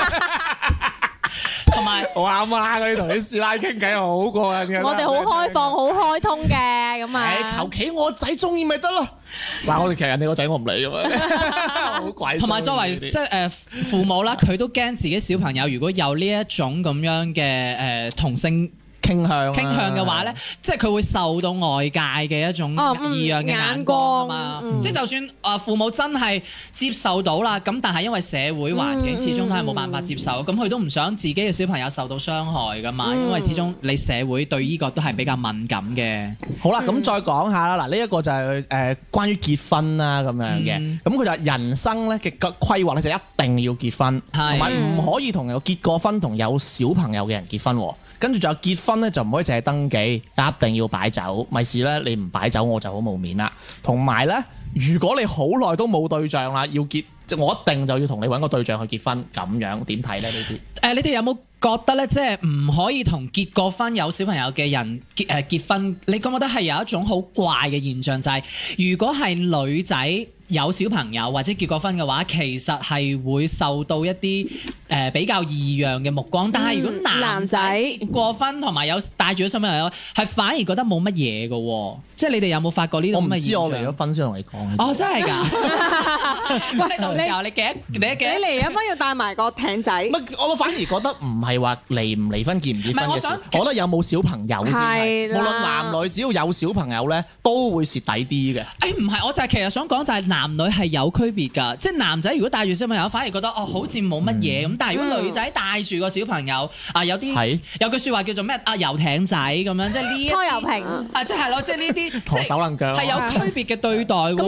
同埋我阿媽嗰啲同啲師奶傾偈好過癮嘅。 我哋好開放、好開通嘅咁誒， 啊。 求其我仔中意咪得咯。嗱，我哋其實人哋個仔我唔理㗎嘛，好鬼。 同埋作為即係誒父母啦，佢都驚自己小朋友如果有呢一種咁樣嘅誒同性傾向傾向嘅話咧，即係佢會受到外界嘅一種哦嗯異樣嘅眼光啊嘛。 眼光嗯即係就算啊父母真係接受到啦，咁但係因為社會環境嗯始終都係冇辦法接受，咁佢都唔想自己嘅小朋友受到傷害噶嘛。 嗯因為始終你社會對呢個都係比較敏感嘅。 好啦，咁再講下啦。嗱，呢一個就係誒關於結婚啦咁樣嘅。 嗯咁佢就係人生咧嘅規劃咧，就一定要結婚， 係同埋唔可以同有結過婚同有小朋友嘅人結婚喎。跟住仲有結婚咧，就唔可以淨係登記，一定要擺酒。咪事咧，你唔擺酒我就好冇面啦。同埋咧，如果你好耐都冇對象啦，要結，即我一定就要同你揾個對象去結婚。咁樣點睇咧？呢啲？ 誒、你哋有冇覺得咧，即係唔可以同結過婚有小朋友嘅人結誒、呃、結婚？你覺唔覺得係有一種好怪嘅現象，就係、如果係女仔有小朋友或者結過婚嘅話，其實係會受到一啲誒、呃、比較異樣嘅目光。但係如果男男仔仔結過婚同埋有帶住咗小朋友，係反而覺得冇乜嘢嘅喎。即係你哋有冇發覺呢我唔種咁嘅現象？ 知我離咗婚先同你講。 哦，真係㗎！喂，到時候你幾多？你幾你多？ 離咗婚要帶埋個艇仔， 唔係，我反而覺得唔係話離唔離婚、結唔結唔係我想婚嘅事，我覺得有冇小朋友先係。 係啦無論男女，只要有小朋友咧，都會蝕底啲嘅。 誒唔係，我就係其實想講就係男女係有區別㗎，即係男仔如果帶住小朋友，反而覺得哦好似冇乜嘢咁，但係如果女仔帶住個小朋友啊，有啲係有句説話叫做咩啊遊艇仔咁樣，即係呢一啲拖油瓶。 啊，即係咯，即係呢啲陀即係手能腳。 係有區別嘅對待㗎咁因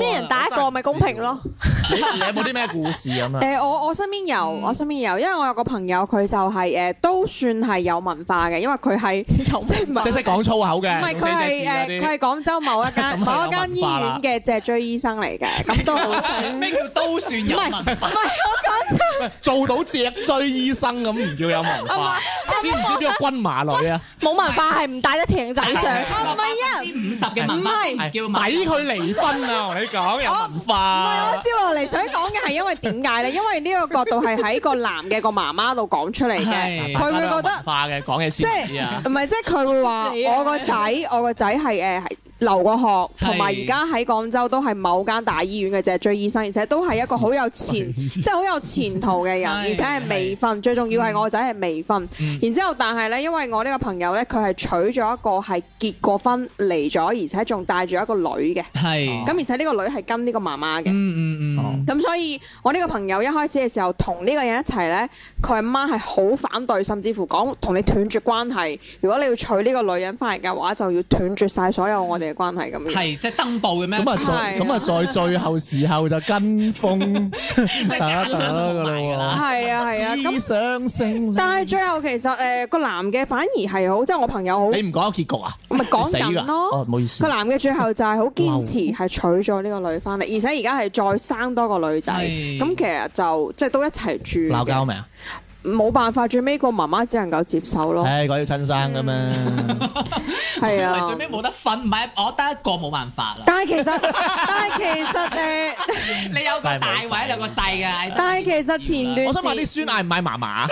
一人帶一個咪公平咯。 你你有冇啲咩故事咁啊？ 誒，我我身邊有，我身邊有，因為我有個朋友佢就係誒都算係有文化嘅，因為佢係即係唔係即係識講粗口嘅， 唔係佢係誒佢係廣州某一間某一間醫院嘅脊椎醫生嚟嘅，咁都好識。 咩叫都算有文化？ 做到脊椎醫生咁唔叫有文化，知唔知邊個軍馬女啊？ 冇文化係唔帶得艇仔上。 唔係啊， 五十嘅文化先叫文化。 抵佢離婚啊！我同你講有文唔係化。 我接落嚟想講嘅係因為點解咧？因為呢個角度係喺個男嘅個媽媽度講出嚟嘅， 係佢會覺得文化嘅講嘢即先知啊係。唔係即係佢會話我個仔我個仔係誒係留過學，同埋而家喺廣州都係某間大醫院嘅脊椎醫生，而且都係一個好有前即係好有前途嘅人，而且係未婚。最重要係我個仔係未婚。然之後，但係咧，因為我呢個朋友咧，佢係娶咗一個係結過婚離咗，而且仲帶住一個女嘅。 係。 咁而且呢個女係跟呢個媽媽嘅。 嗯嗯嗯。 咁所以，我呢個朋友一開始嘅時候同呢個人一齊咧，佢阿媽係好反對，甚至乎講同你斷絕關係。如果你要娶呢個女人翻嚟嘅話，就要斷絕晒所有我哋嘅關係咁樣。 係即係登報嘅咩？ 咁啊，在咁啊，在最後時候就跟風打打噶啦係啊係啊， 喎。 咁上升。 但係最後其實誒個男嘅反而係好，即係我朋友好。 你唔講結局啊？ 咪講死㗎緊咯。 哦，唔好意思。 個男嘅最後就係好堅持係娶咗呢個女翻嚟，而且而家係再生多個女仔。 係咁其實就即係都一齊住嘅。 鬧交未啊？ 冇辦法，最尾個媽媽只能夠接受咯。 唉，講要親生噶嘛。 係啊。 最尾冇得分，唔係我得一個冇辦法啦。 但係其實，但係其實誒， 你有個大位，有個細嘅。 但係其實前段我想問啲孫嗌唔嗌嫲嫲啊？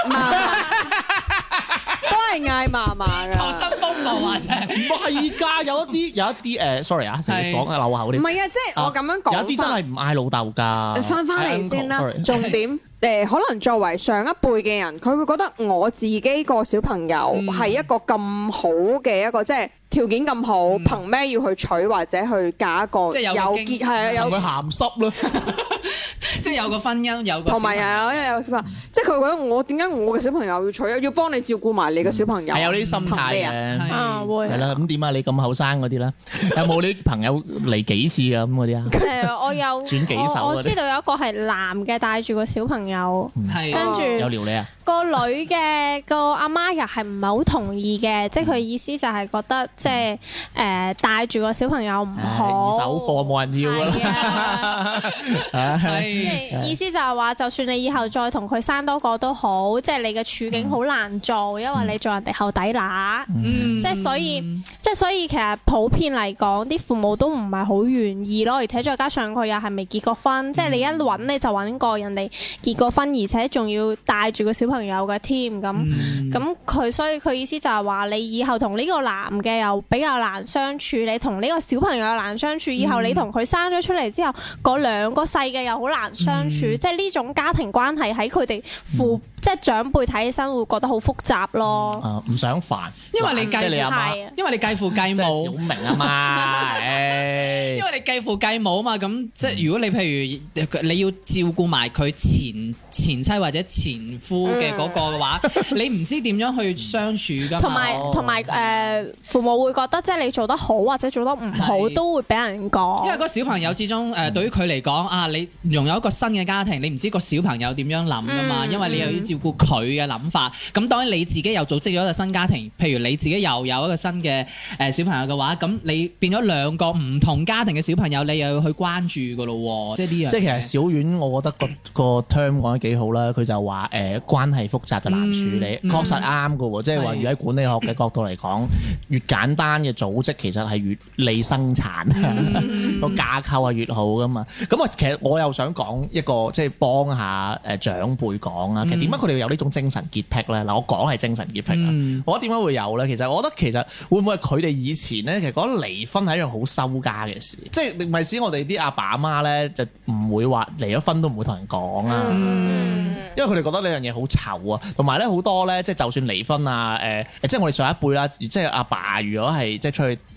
都係嗌嫲嫲㗎。 求生風暴啊！真係。 唔係㗎，有一啲有一啲誒，sorry 啊，成日講嘅漏口啲。 唔係啊，即係我咁樣講。 有啲真係唔嗌老豆㗎。 翻返嚟先啦，重點。誒可能作為上一輩嘅人，佢會覺得我自己個小朋友係一個咁好嘅一個，即係條件咁好，憑咩要去娶或者去嫁一個即係有有結係啊有佢鹹濕咯， 即係有個婚姻，有個同埋有有有小朋友，即係佢覺得我點解我嘅小朋友要娶，要幫你照顧埋你嘅小朋友， 係有呢啲心態憑咩啊？ 嘅。 啊會係啦，咁點啊？你咁後生嗰啲咧，有冇啲朋友嚟幾次㗎咁嗰啲啊？ 誒，我有轉幾手嗰啲我我知道有一個係男嘅帶住個小朋友， 係跟住有撩你啊？ 個女嘅個阿媽又係唔係好同意嘅，即係佢意思就係覺得即係誒帶住個小朋友唔好， 二手貨冇人要係啊！ 啊，即係係意思就係話，就算你以後再同佢生多個都好，即係你嘅處境好難做，因為你做人哋後底乸， 嗯即係所以，即係所以其實普遍嚟講，啲父母都唔係好願意咯，而且再加上佢又係未結過婚，即係你一揾你就揾個人哋結過婚，而且仲要帶住個小朋友嘅添，咁咁佢所以佢意思就係話，你以後同呢個男嘅又比較難相處，你同呢個小朋友又難相處，以後你同佢生咗出嚟之後，嗰兩個細嘅又好難相處，即係呢種家庭關係喺佢哋父即係長輩睇起身會覺得好複雜咯。 啊，唔想煩， 因為你繼即係你阿媽， 係啊因為你繼父繼即係小母。 明啊嘛，唉因為你繼父繼母啊嘛，咁即係如果你譬如你要照顧埋佢前前妻或者前夫嘅嗰個嘅話，你唔知點樣去相處噶嘛。 同埋同埋誒父母會覺得即係你做得好或者做得唔好係都會俾人講。 因為個小朋友始終誒、呃、對於佢嚟講啊，你擁有一個新嘅家庭，你唔知個小朋友點樣諗噶嘛， 嗯因為你又要照顧佢嘅諗法。咁當然你自己又組織咗一個新家庭，譬如你自己又有一個新嘅誒、呃、小朋友嘅話，咁你變咗兩個唔同家庭嘅小朋友，你又要去關注噶咯喎，即係呢樣。 即係其實小丸，我覺得個個 term 講得幾好啦。佢就話誒關係複雜就難處理， 嗯確實啱嘅喎。即係話，如果喺管理學嘅角度嚟講，越簡單嘅組織其實係越利生產，個架構係越好噶嘛。咁啊，其實我又想講一個即係幫下誒長輩講啊。其實點解佢哋有呢種精神潔癖咧？嗱，我講係精神潔癖啊。 嗯我覺得點解會有咧？其實我覺得其實會唔會係佢哋以前咧，其實覺得離婚係一樣好收家嘅事，即係咪使我哋啲阿爸阿媽咧就唔會話離咗婚都唔會同人講啊。 嗯因為佢哋覺得呢樣嘢好醜啊，同埋咧好多咧，即係就算離婚啊，誒、呃，即係我哋上一輩啦，即係阿爸如果係即係出去，即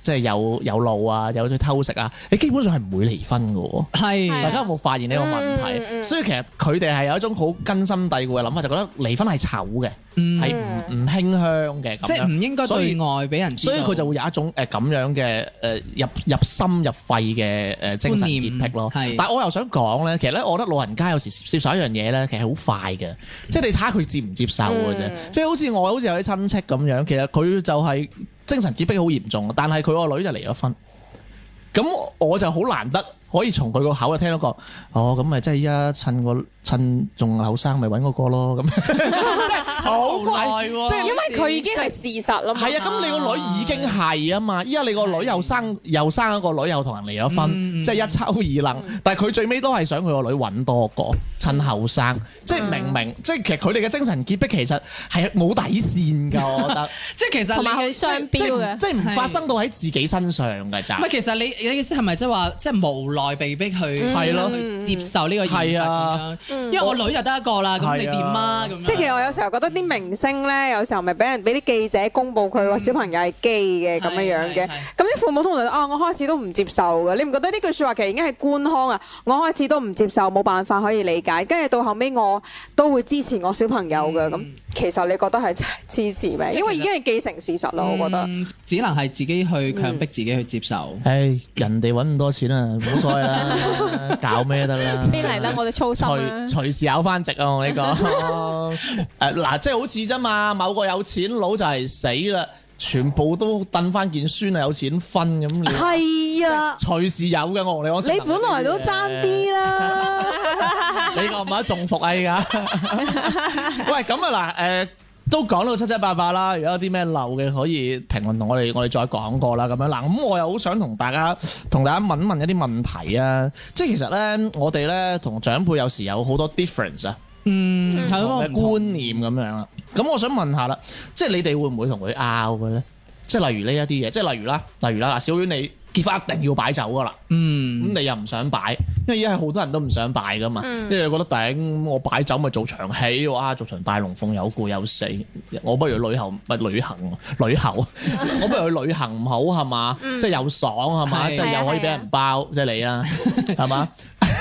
即係有有路啊，有去偷食啊，你基本上係唔會離婚嘅喎。 係係大家有冇發現呢個問題？ 嗯嗯所以其實佢哋係有一種好根深蒂固嘅諗法，就覺得離婚係醜嘅， 嗯係唔唔馨香嘅咁即係樣。 唔應該所以對外俾人知道， 所以佢就會有一種誒咁樣嘅誒入入心入肺嘅誒精神潔癖咯。 觀念係但係我又想講咧，其實咧，我覺得老人家有時接受一樣嘢咧，其實好快嘅，即係你睇下佢接唔接受嘅啫。 嗯即係好似我好似有啲親戚咁樣，其實佢就係精神潔癖好嚴重，但係佢個女就離咗婚。咁我就好難得可以從佢個口就聽到個，哦咁咪即係依家趁個趁仲後生，咪揾嗰個咯咁。好耐喎， 即係因為佢已經係事實啦嘛。 係啊，咁你個女已經係啊嘛，依家你個女又生又生一個女，又同人離咗婚， 嗯即係一抽二楞。但係佢最尾都係想佢個女揾多個，趁後生。即係明明，即係其實佢哋嘅精神潔癖其實係冇底線㗎，我覺得。 即係其實你同埋好雙標嘅。 即係唔發生到喺自己身上㗎咋唔。係，其實你你意思係咪即係話，即係無奈被逼去係咯去接受呢個現實係啊咁樣？因為我女就得一個啦，咁你點啊？咁樣即係其實我有時候覺得啲明星咧，有時候咪俾人俾啲記者公佈佢個小朋友係基嘅咁樣樣嘅， 係係係咁啲父母通常都啊，我開始都唔接受嘅，你唔覺得呢句説話其實已經係官腔啊？我開始都唔接受，冇辦法可以理解，跟住到後尾我都會支持我小朋友嘅，咁、 嗯其實你覺得係真係支持咩？ 即係因為已經係既成事實啦，我覺得。 嗯只能係自己去強迫自己去接受。 唉，人哋揾咁多錢啊，冇所謂啦，搞咩得啦。 邊嚟得我哋操心啊隨！隨時咬翻直啊！我呢個誒嗱，即係好似啫嘛，某個有錢佬就係死啦，全部都燉翻件孫啊，有錢分咁你。 係啊， 隨時有嘅，我同你講。 你本來都爭啲啦。 你覺唔覺得中伏啊？依家喂，咁啊嗱，誒都講到七七八八啦。如果有啲咩漏嘅，可以評論同我哋，我哋再講過啦。咁樣嗱，咁我又好想同大家同大家問一問一啲問題啊。即係其實咧，我哋咧同長輩有時有好多 difference 啊。 嗯，係咯， 唔同嘅觀念咁樣啦。咁我想問下啦，即係你哋會唔會同佢拗嘅咧？即係例如呢一啲嘢，即係例如啦，例如啦，嗱，小婉你結婚一定要擺酒噶啦， 嗯， 咁你又唔想擺，因為而家係好多人都唔想擺噶嘛，因為你覺得頂我擺酒咪做長戲，哇，做場大龍鳳有故有死，我不如旅行咪旅行旅遊，我不如去旅行唔好係嘛？即係又爽係嘛？ 係即係又可以俾人包，即係你啦，係嘛？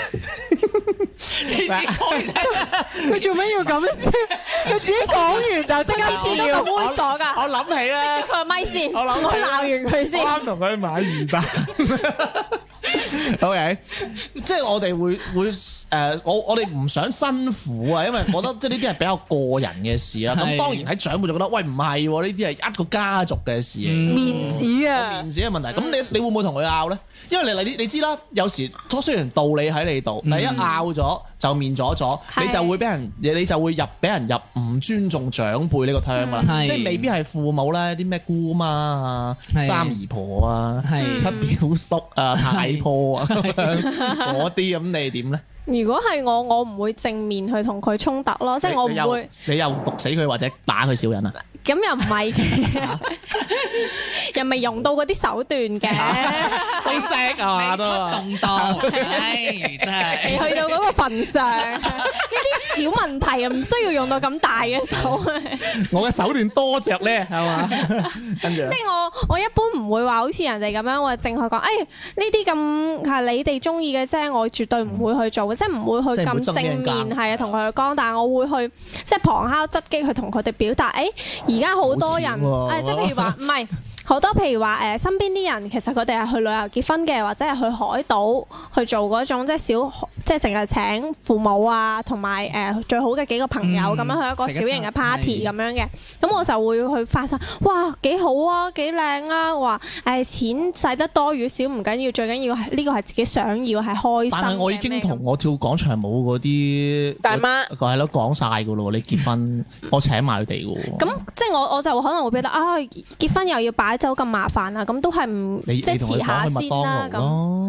佢做咩要咁先？佢自己講完就即刻先都咁猥瑣㗎， 我諗起咧。 佢個咪先， 我諗我鬧完佢先。 啱同佢買魚蛋。O K，即係我哋會會誒、呃，我我哋唔想辛苦啊，因為我覺得即係呢啲係比較個人嘅事啦。咁係當然喺長輩就覺得，喂唔係喎，呢啲係一個家族嘅事嚟嘅， 面子啊！ 面子嘅問題。咁你你會唔會同佢拗咧？因為你你你知啦，有時雖然道理喺你度，但係一拗咗就面咗咗， 係你就會俾人你就會入俾人入唔尊重長輩呢個 term 啦。 係即係未必係父母咧，啲咩姑媽啊、 係三姨婆啊、 係七表叔啊、太婆啊咁樣嗰啲，咁你點咧？ 如果係我，我唔會正面去同佢衝突咯，即係我你又唔會。 你又毒死佢或者打佢小人啊？ 咁又唔係嘅，又未用到嗰啲手段嘅， 好識啊嘛都。 動到，唉，真係未去到嗰個份上。呢啲小問題又唔需要用到咁大嘅手。 我嘅手段多着咧，係嘛？跟住即係我我一般唔會話好似人哋咁樣話淨係講，誒呢啲咁係你哋中意嘅啫，我絕對唔會去做嘅，即係唔會去咁正面係啊同佢講，但係我會去即係旁敲側擊去同佢哋表達，誒而家好多人誒，即係譬如話唔係。好多譬如話誒、呃、身邊啲人其實佢哋係去旅遊結婚嘅，或者係去海島去做嗰種即係小即係淨係請父母啊，同埋誒最好嘅幾個朋友咁、嗯、樣去一個小型嘅 party 咁樣嘅。咁我就會去發生，哇幾好啊，幾靚啊！話誒、呃、錢使得多與少唔緊要，最緊要係呢個係自己想要係開心。 但係我已經同我跳廣場舞嗰啲大媽係咯講晒㗎咯，你結婚我請埋佢哋㗎喎。 咁即係我我就可能會覺得啊，結婚又要擺酒咁麻煩啊，咁都係唔即係你你同佢遲下講去麥當先啦。 勞咯， 咁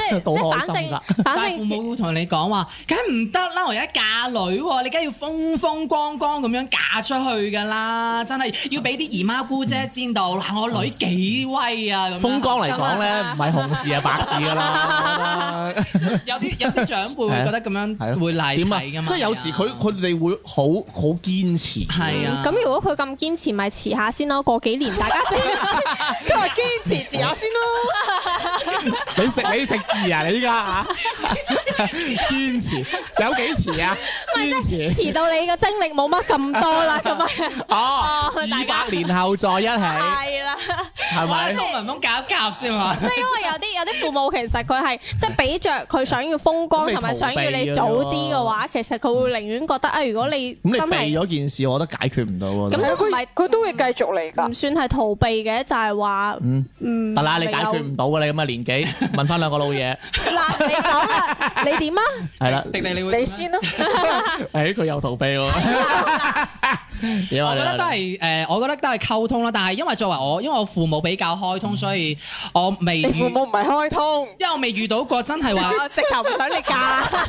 即係都即係反正開心㗎反但係父正母會同你講話，梗係唔得啦！我而家嫁女喎，你梗係要風風光光咁樣嫁出去㗎啦，真係要俾啲姨媽姑姐知道，嗱我女幾威啊咁樣。 風光嚟講咧，唔係紅事係白事㗎啦。 有啲有啲長輩會覺得咁係樣咯會賴點啊？ 皮㗎嘛。 即係有時佢佢哋會好好堅持。 係啊。 咁如果佢咁堅持，咪遲下先咯。過幾年大家就佢話堅持遲下先咯。 你食你食字啊！你依家嚇堅持有幾遲啊？堅持遲到你嘅精力冇乜咁多啦，咁啊哦， 大二家百年後再一起， 係啦。 係咪？ 同文峰夾一夾先嘛。 即係因為有啲有啲父母其實佢係即係比着佢想要風光咁你同埋想要你逃避嘅早啫啲嘅話，其實佢會寧願覺得啊，如果你咁你避真係咗件事，我覺得解決唔到喎。 咁都唔係佢都會繼續嚟㗎唔。算係逃避嘅，就係話嗯嗯得啦，你解決有唔到㗎，你咁嘅年紀，問翻兩個老嘢， 嗱，你講啦，你點啊？ 係啦。 迪迪你會你先咯。 誒，佢又逃避喎。點啊我覺得都係誒，我覺得都係溝通啦。但係因為作為我，因為我父母比較開通，所以我未你父遇， 母唔係開通， 因為我未遇到過真係話， 我直頭唔想你嫁。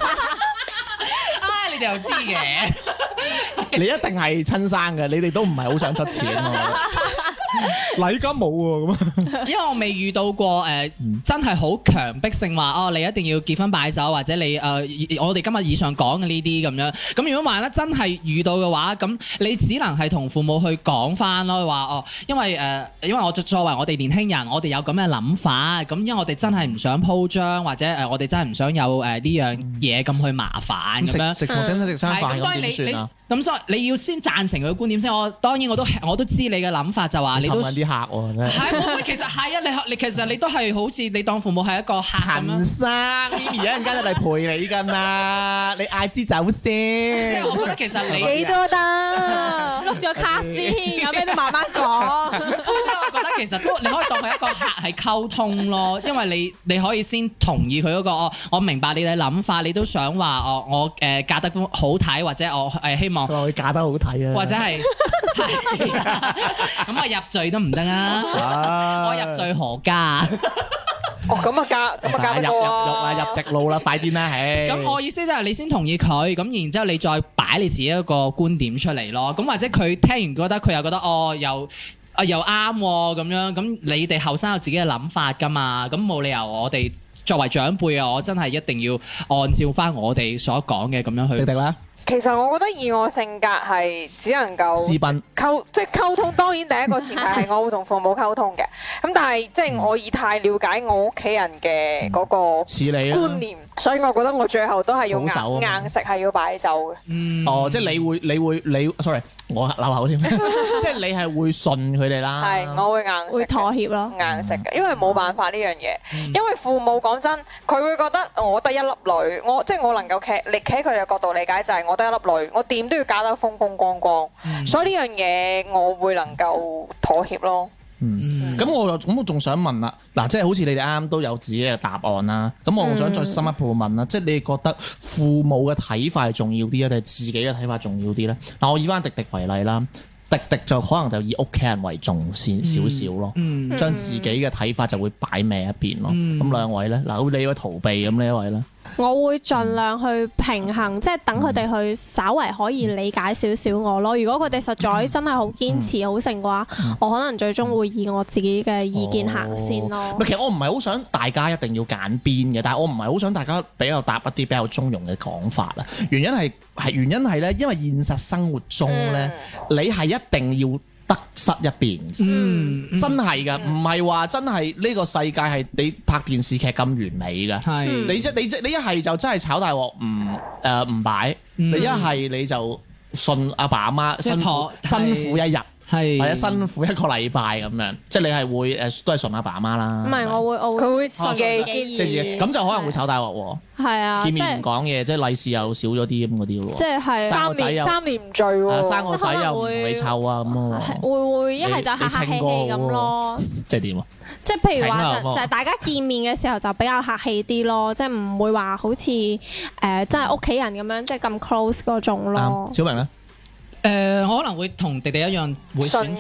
唉，你哋又知嘅。 你一定係親生嘅，你哋都唔係好想出錢喎。禮金冇喎，咁啊。 因為我未遇到過誒、呃真係好強迫性話哦，你一定要結婚擺酒，或者你誒、呃我哋今日以上講嘅呢啲咁樣。咁如果萬一真係遇到嘅話，咁你只能係同父母去講翻咯，話哦，因為誒、呃因為我作為我哋年輕人，我哋有咁嘅諗法，咁因為我哋真係唔想鋪張，或者誒、呃我哋真係唔想有誒呢樣嘢咁去麻煩咁樣。 食食同親戚食餐飯係咁，當咁然你你點算啊？ 咁所以你要先贊成佢嘅觀點先。我當然我都我都知你嘅諗法，就話你都氹緊啲客喎，真係。 係，我其實係啊，你你其實你都係好似你當父母係一個客咁陳樣。 生，咪咪一陣間就嚟陪你㗎嘛，你嗌支酒即係先。 我覺得其實你， 幾多得？ 碌咗卡先，有咩都慢慢講。 即係我覺得其實都你可以當佢一個客係溝通咯，因為你你可以先同意佢嗰個哦，我明白你嘅諗法，你都想話哦，我誒嫁得好睇，或者我誒希望佢。話佢嫁得好睇啊， 或者係係啊咁我入罪都唔得啊！ 啊我入罪何家？ 哦，咁啊嫁，咁啊嫁入入得過獄啦， 啊！ 入直路啦，快啲啦，唉！ 咁我意思就係你先同意佢，咁然之後你再擺你自己一個觀點出嚟咯。咁或者佢聽完覺得佢又覺得哦又啊又啱喎咁樣，咁你哋後生有自己嘅諗法㗎嘛？咁冇理由我哋作為長輩啊，我真係一定要按照翻我哋所講嘅咁樣去。 迪迪啦， 其實我覺得以我性格係只能夠私奔溝，即係溝通。當然第一個前提係我會同父母溝通嘅。咁但係即係我以太了解我屋企人嘅嗰個似你啊觀念，所以我覺得我最後都係要保守啊嘛硬硬食係要擺酒嘅。 嗯哦，即係你會你會你，sorry，我漏口添，即係你係會信佢哋啦， 係，我會硬食會嘅。 妥協咯。 硬食嘅，因為冇辦法呢樣嘢。因為父母講真，佢會覺得我得一粒女，我即係我能夠企，你企喺佢哋嘅角度理解就係我得一粒女，我點都要嫁得風風光光。所以呢樣嘢我會能夠妥協咯。 嗯，咁我又咁我仲想問啦，嗱，即係好似你哋啱啱都有自己嘅答案啦，咁我想再深一步問啦，即係你哋覺得父母嘅睇法係重要啲啊，定係自己嘅睇法重要啲咧？嗱，我以翻迪迪為例啦。迪迪就可能就以屋企人為重先少少咯， 嗯將自己嘅睇法就會擺歪一邊咯。 嗯咁兩位咧，嗱，好似你會逃避咁呢一位咧， 我會盡量去平衡，即係等佢哋去稍為可以理解少少我咯。如果佢哋實在真係好堅持好成嘅話，我可能最終會以我自己嘅意見行先咯。 其實我唔係好想大家一定要揀邊嘅，但係我唔係好想大家比較答一啲比較中庸嘅講法啦。原因係係原因係咧，因為現實生活中咧，你係一定要得失一邊嘅。 嗯，嗯真係㗎，唔係話真係呢個世界係你拍電視劇咁完美㗎。 係你即你即你一係就真係炒大鑊唔誒唔擺， 嗯你一係你就信阿爸阿媽辛苦即係妥辛苦一日， 係或者辛苦一個禮拜咁樣，即係你係會誒都係信阿爸阿媽啦。 唔係，我會我佢會自己自己堅即係自己咁就可能會炒大鑊喎。 係啊， 見即係面唔講嘢，即係利是又少咗啲咁嗰啲喎。 即係係生個三仔又年三年唔聚啊喎。 生個仔又唔同你湊啊咁喎。 會會一係就客客氣氣咁咯。 即係點啊？ 即係譬如話請啊就就係大家見面嘅時候就比較客氣啲咯，即係唔會話好似誒真係屋企人咁樣即係咁 close 嗰種咯啱。。小明咧， 誒，我可能會同迪迪一樣會選擇順應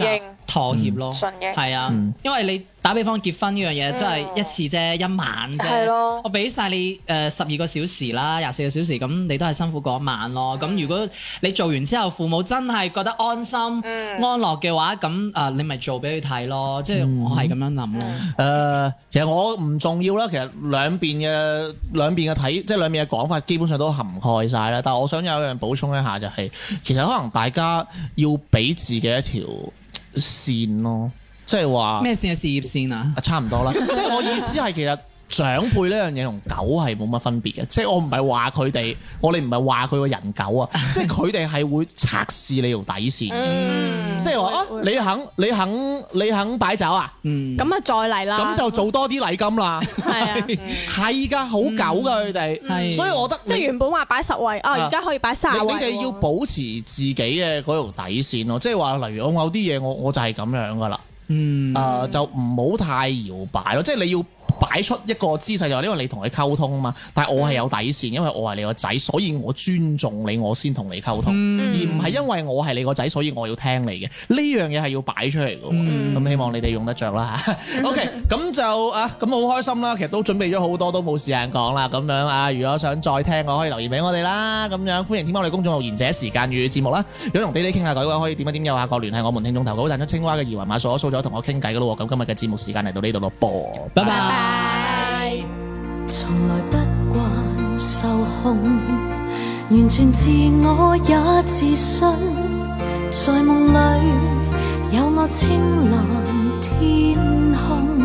妥協咯， 順嘅係啊嗯， 因為你打比方結婚呢樣嘢，真係一次啫，一晚啫， 係咯我俾晒你誒十二個小時啦，廿四個小時，咁你都係辛苦嗰一晚咯。咁如果你做完之後，父母真係覺得安心、安樂嘅話，咁啊你咪做俾佢睇咯，即係我係咁樣諗咯。 誒、其實我唔重要啦。其實兩邊嘅兩邊嘅睇，即係兩邊嘅講法，基本上都涵蓋晒啦。但係我想有一樣補充一下，就係、其實可能大家要俾自己一條線咯，即係話咩線啊？事業線啊？ 啊，差唔多啦。即係我意思係其實長輩呢樣嘢同狗係冇乜分別嘅，即係我唔係話佢哋，我哋唔係話佢個人狗啊，即係佢哋係會測試你條底線嘅， 嗯即係話啊，你肯你肯你肯擺酒啊， 嗯， 咁啊再嚟啦， 咁就做多啲禮金啦。 係啊， 係㗎，好狗㗎佢哋， 係所以我覺得即係你原本話擺十位，啊而家可以擺卅位喎。 你你哋要保持自己嘅嗰條底線咯，即係話例如我某啲嘢我我就係咁樣㗎啦， 嗯， 誒就唔好太搖擺咯，即係你要擺出一個姿勢就係因為你同佢溝通啊嘛，但係我係有底線，因為我係你個仔，所以我尊重你，我先同你溝通，而唔係因為我係你個仔，所以我要聽你嘅。呢樣嘢係要擺出嚟嘅喎，咁希望你哋用得着啦嚇。OK，咁就啊咁好開心啦，其實都準備咗好多，都冇時間講啦。咁樣啊，如果想再聽，我可以留言俾我哋啦。咁樣歡迎添加我哋公眾號賢者時間粵語節目啦。如果同地地傾下偈嘅話，可以點一點右下角聯繫我們聽眾投稿，彈出青蛙嘅二維碼掃一掃咗同我傾偈嘅咯喎。咁今日嘅節目時間嚟到呢度咯噃， 拜拜。 從來不慣受控，完全自我也自信，在夢裏有我青藍天空，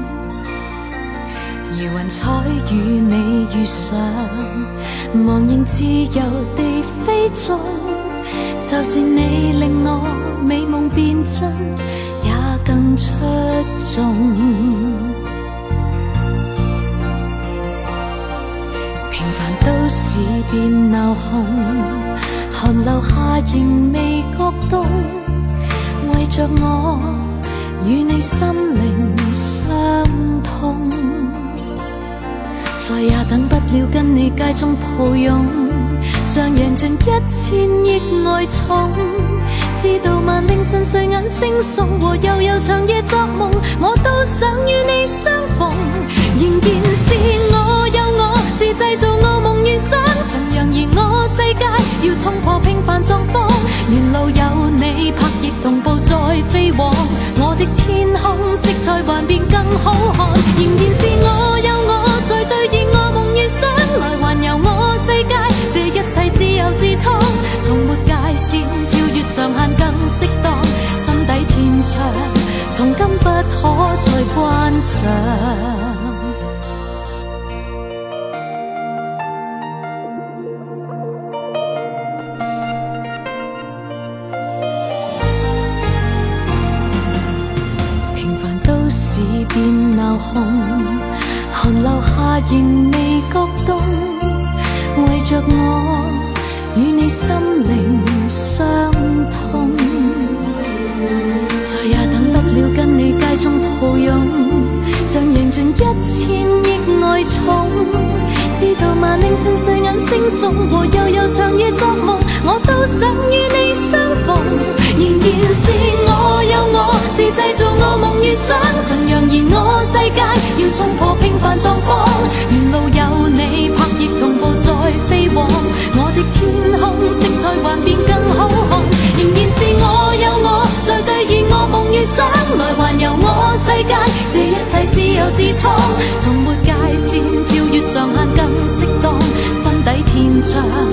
如雲彩與你遇上，茫然自由地飛縱，就是你令我美夢變真，也更出眾。都市變鬧哄，寒流下仍未覺凍，為着我與你心靈相通，再也等不了跟你街中抱擁，像贏盡一千億愛寵，知道萬令順睡眼惺忪和悠悠長夜作夢，我都想與你相逢，仍然是我有我自製造我夢遇上，曾揚言我世界要衝破平凡狀況，沿路有你拍翼同步再飛往，我的天空色彩幻變更好看，仍然是我有我在兌現我夢遇上，來環遊我世界，這一切自由自創，從沒界線跳越上限更適當，心底天窗從今不可再關上。變鬧哄，寒流下仍未覺凍，為着我與你心靈相通，再也等不了跟你街中抱擁，像贏盡一千億愛寵，知道萬令順睡眼惺忪和悠悠長夜作夢，我都想與你相逢，仍然是我有我自製造我夢遇上，曾揚言我世界要衝破平凡狀況，沿路有你拍翼同步再飛往，我的天空色彩幻變更好看，仍然是我有我在兌現我夢遇上，來環遊我世界，這一切自由自創，從沒界線跳越上限更適當，心底天窗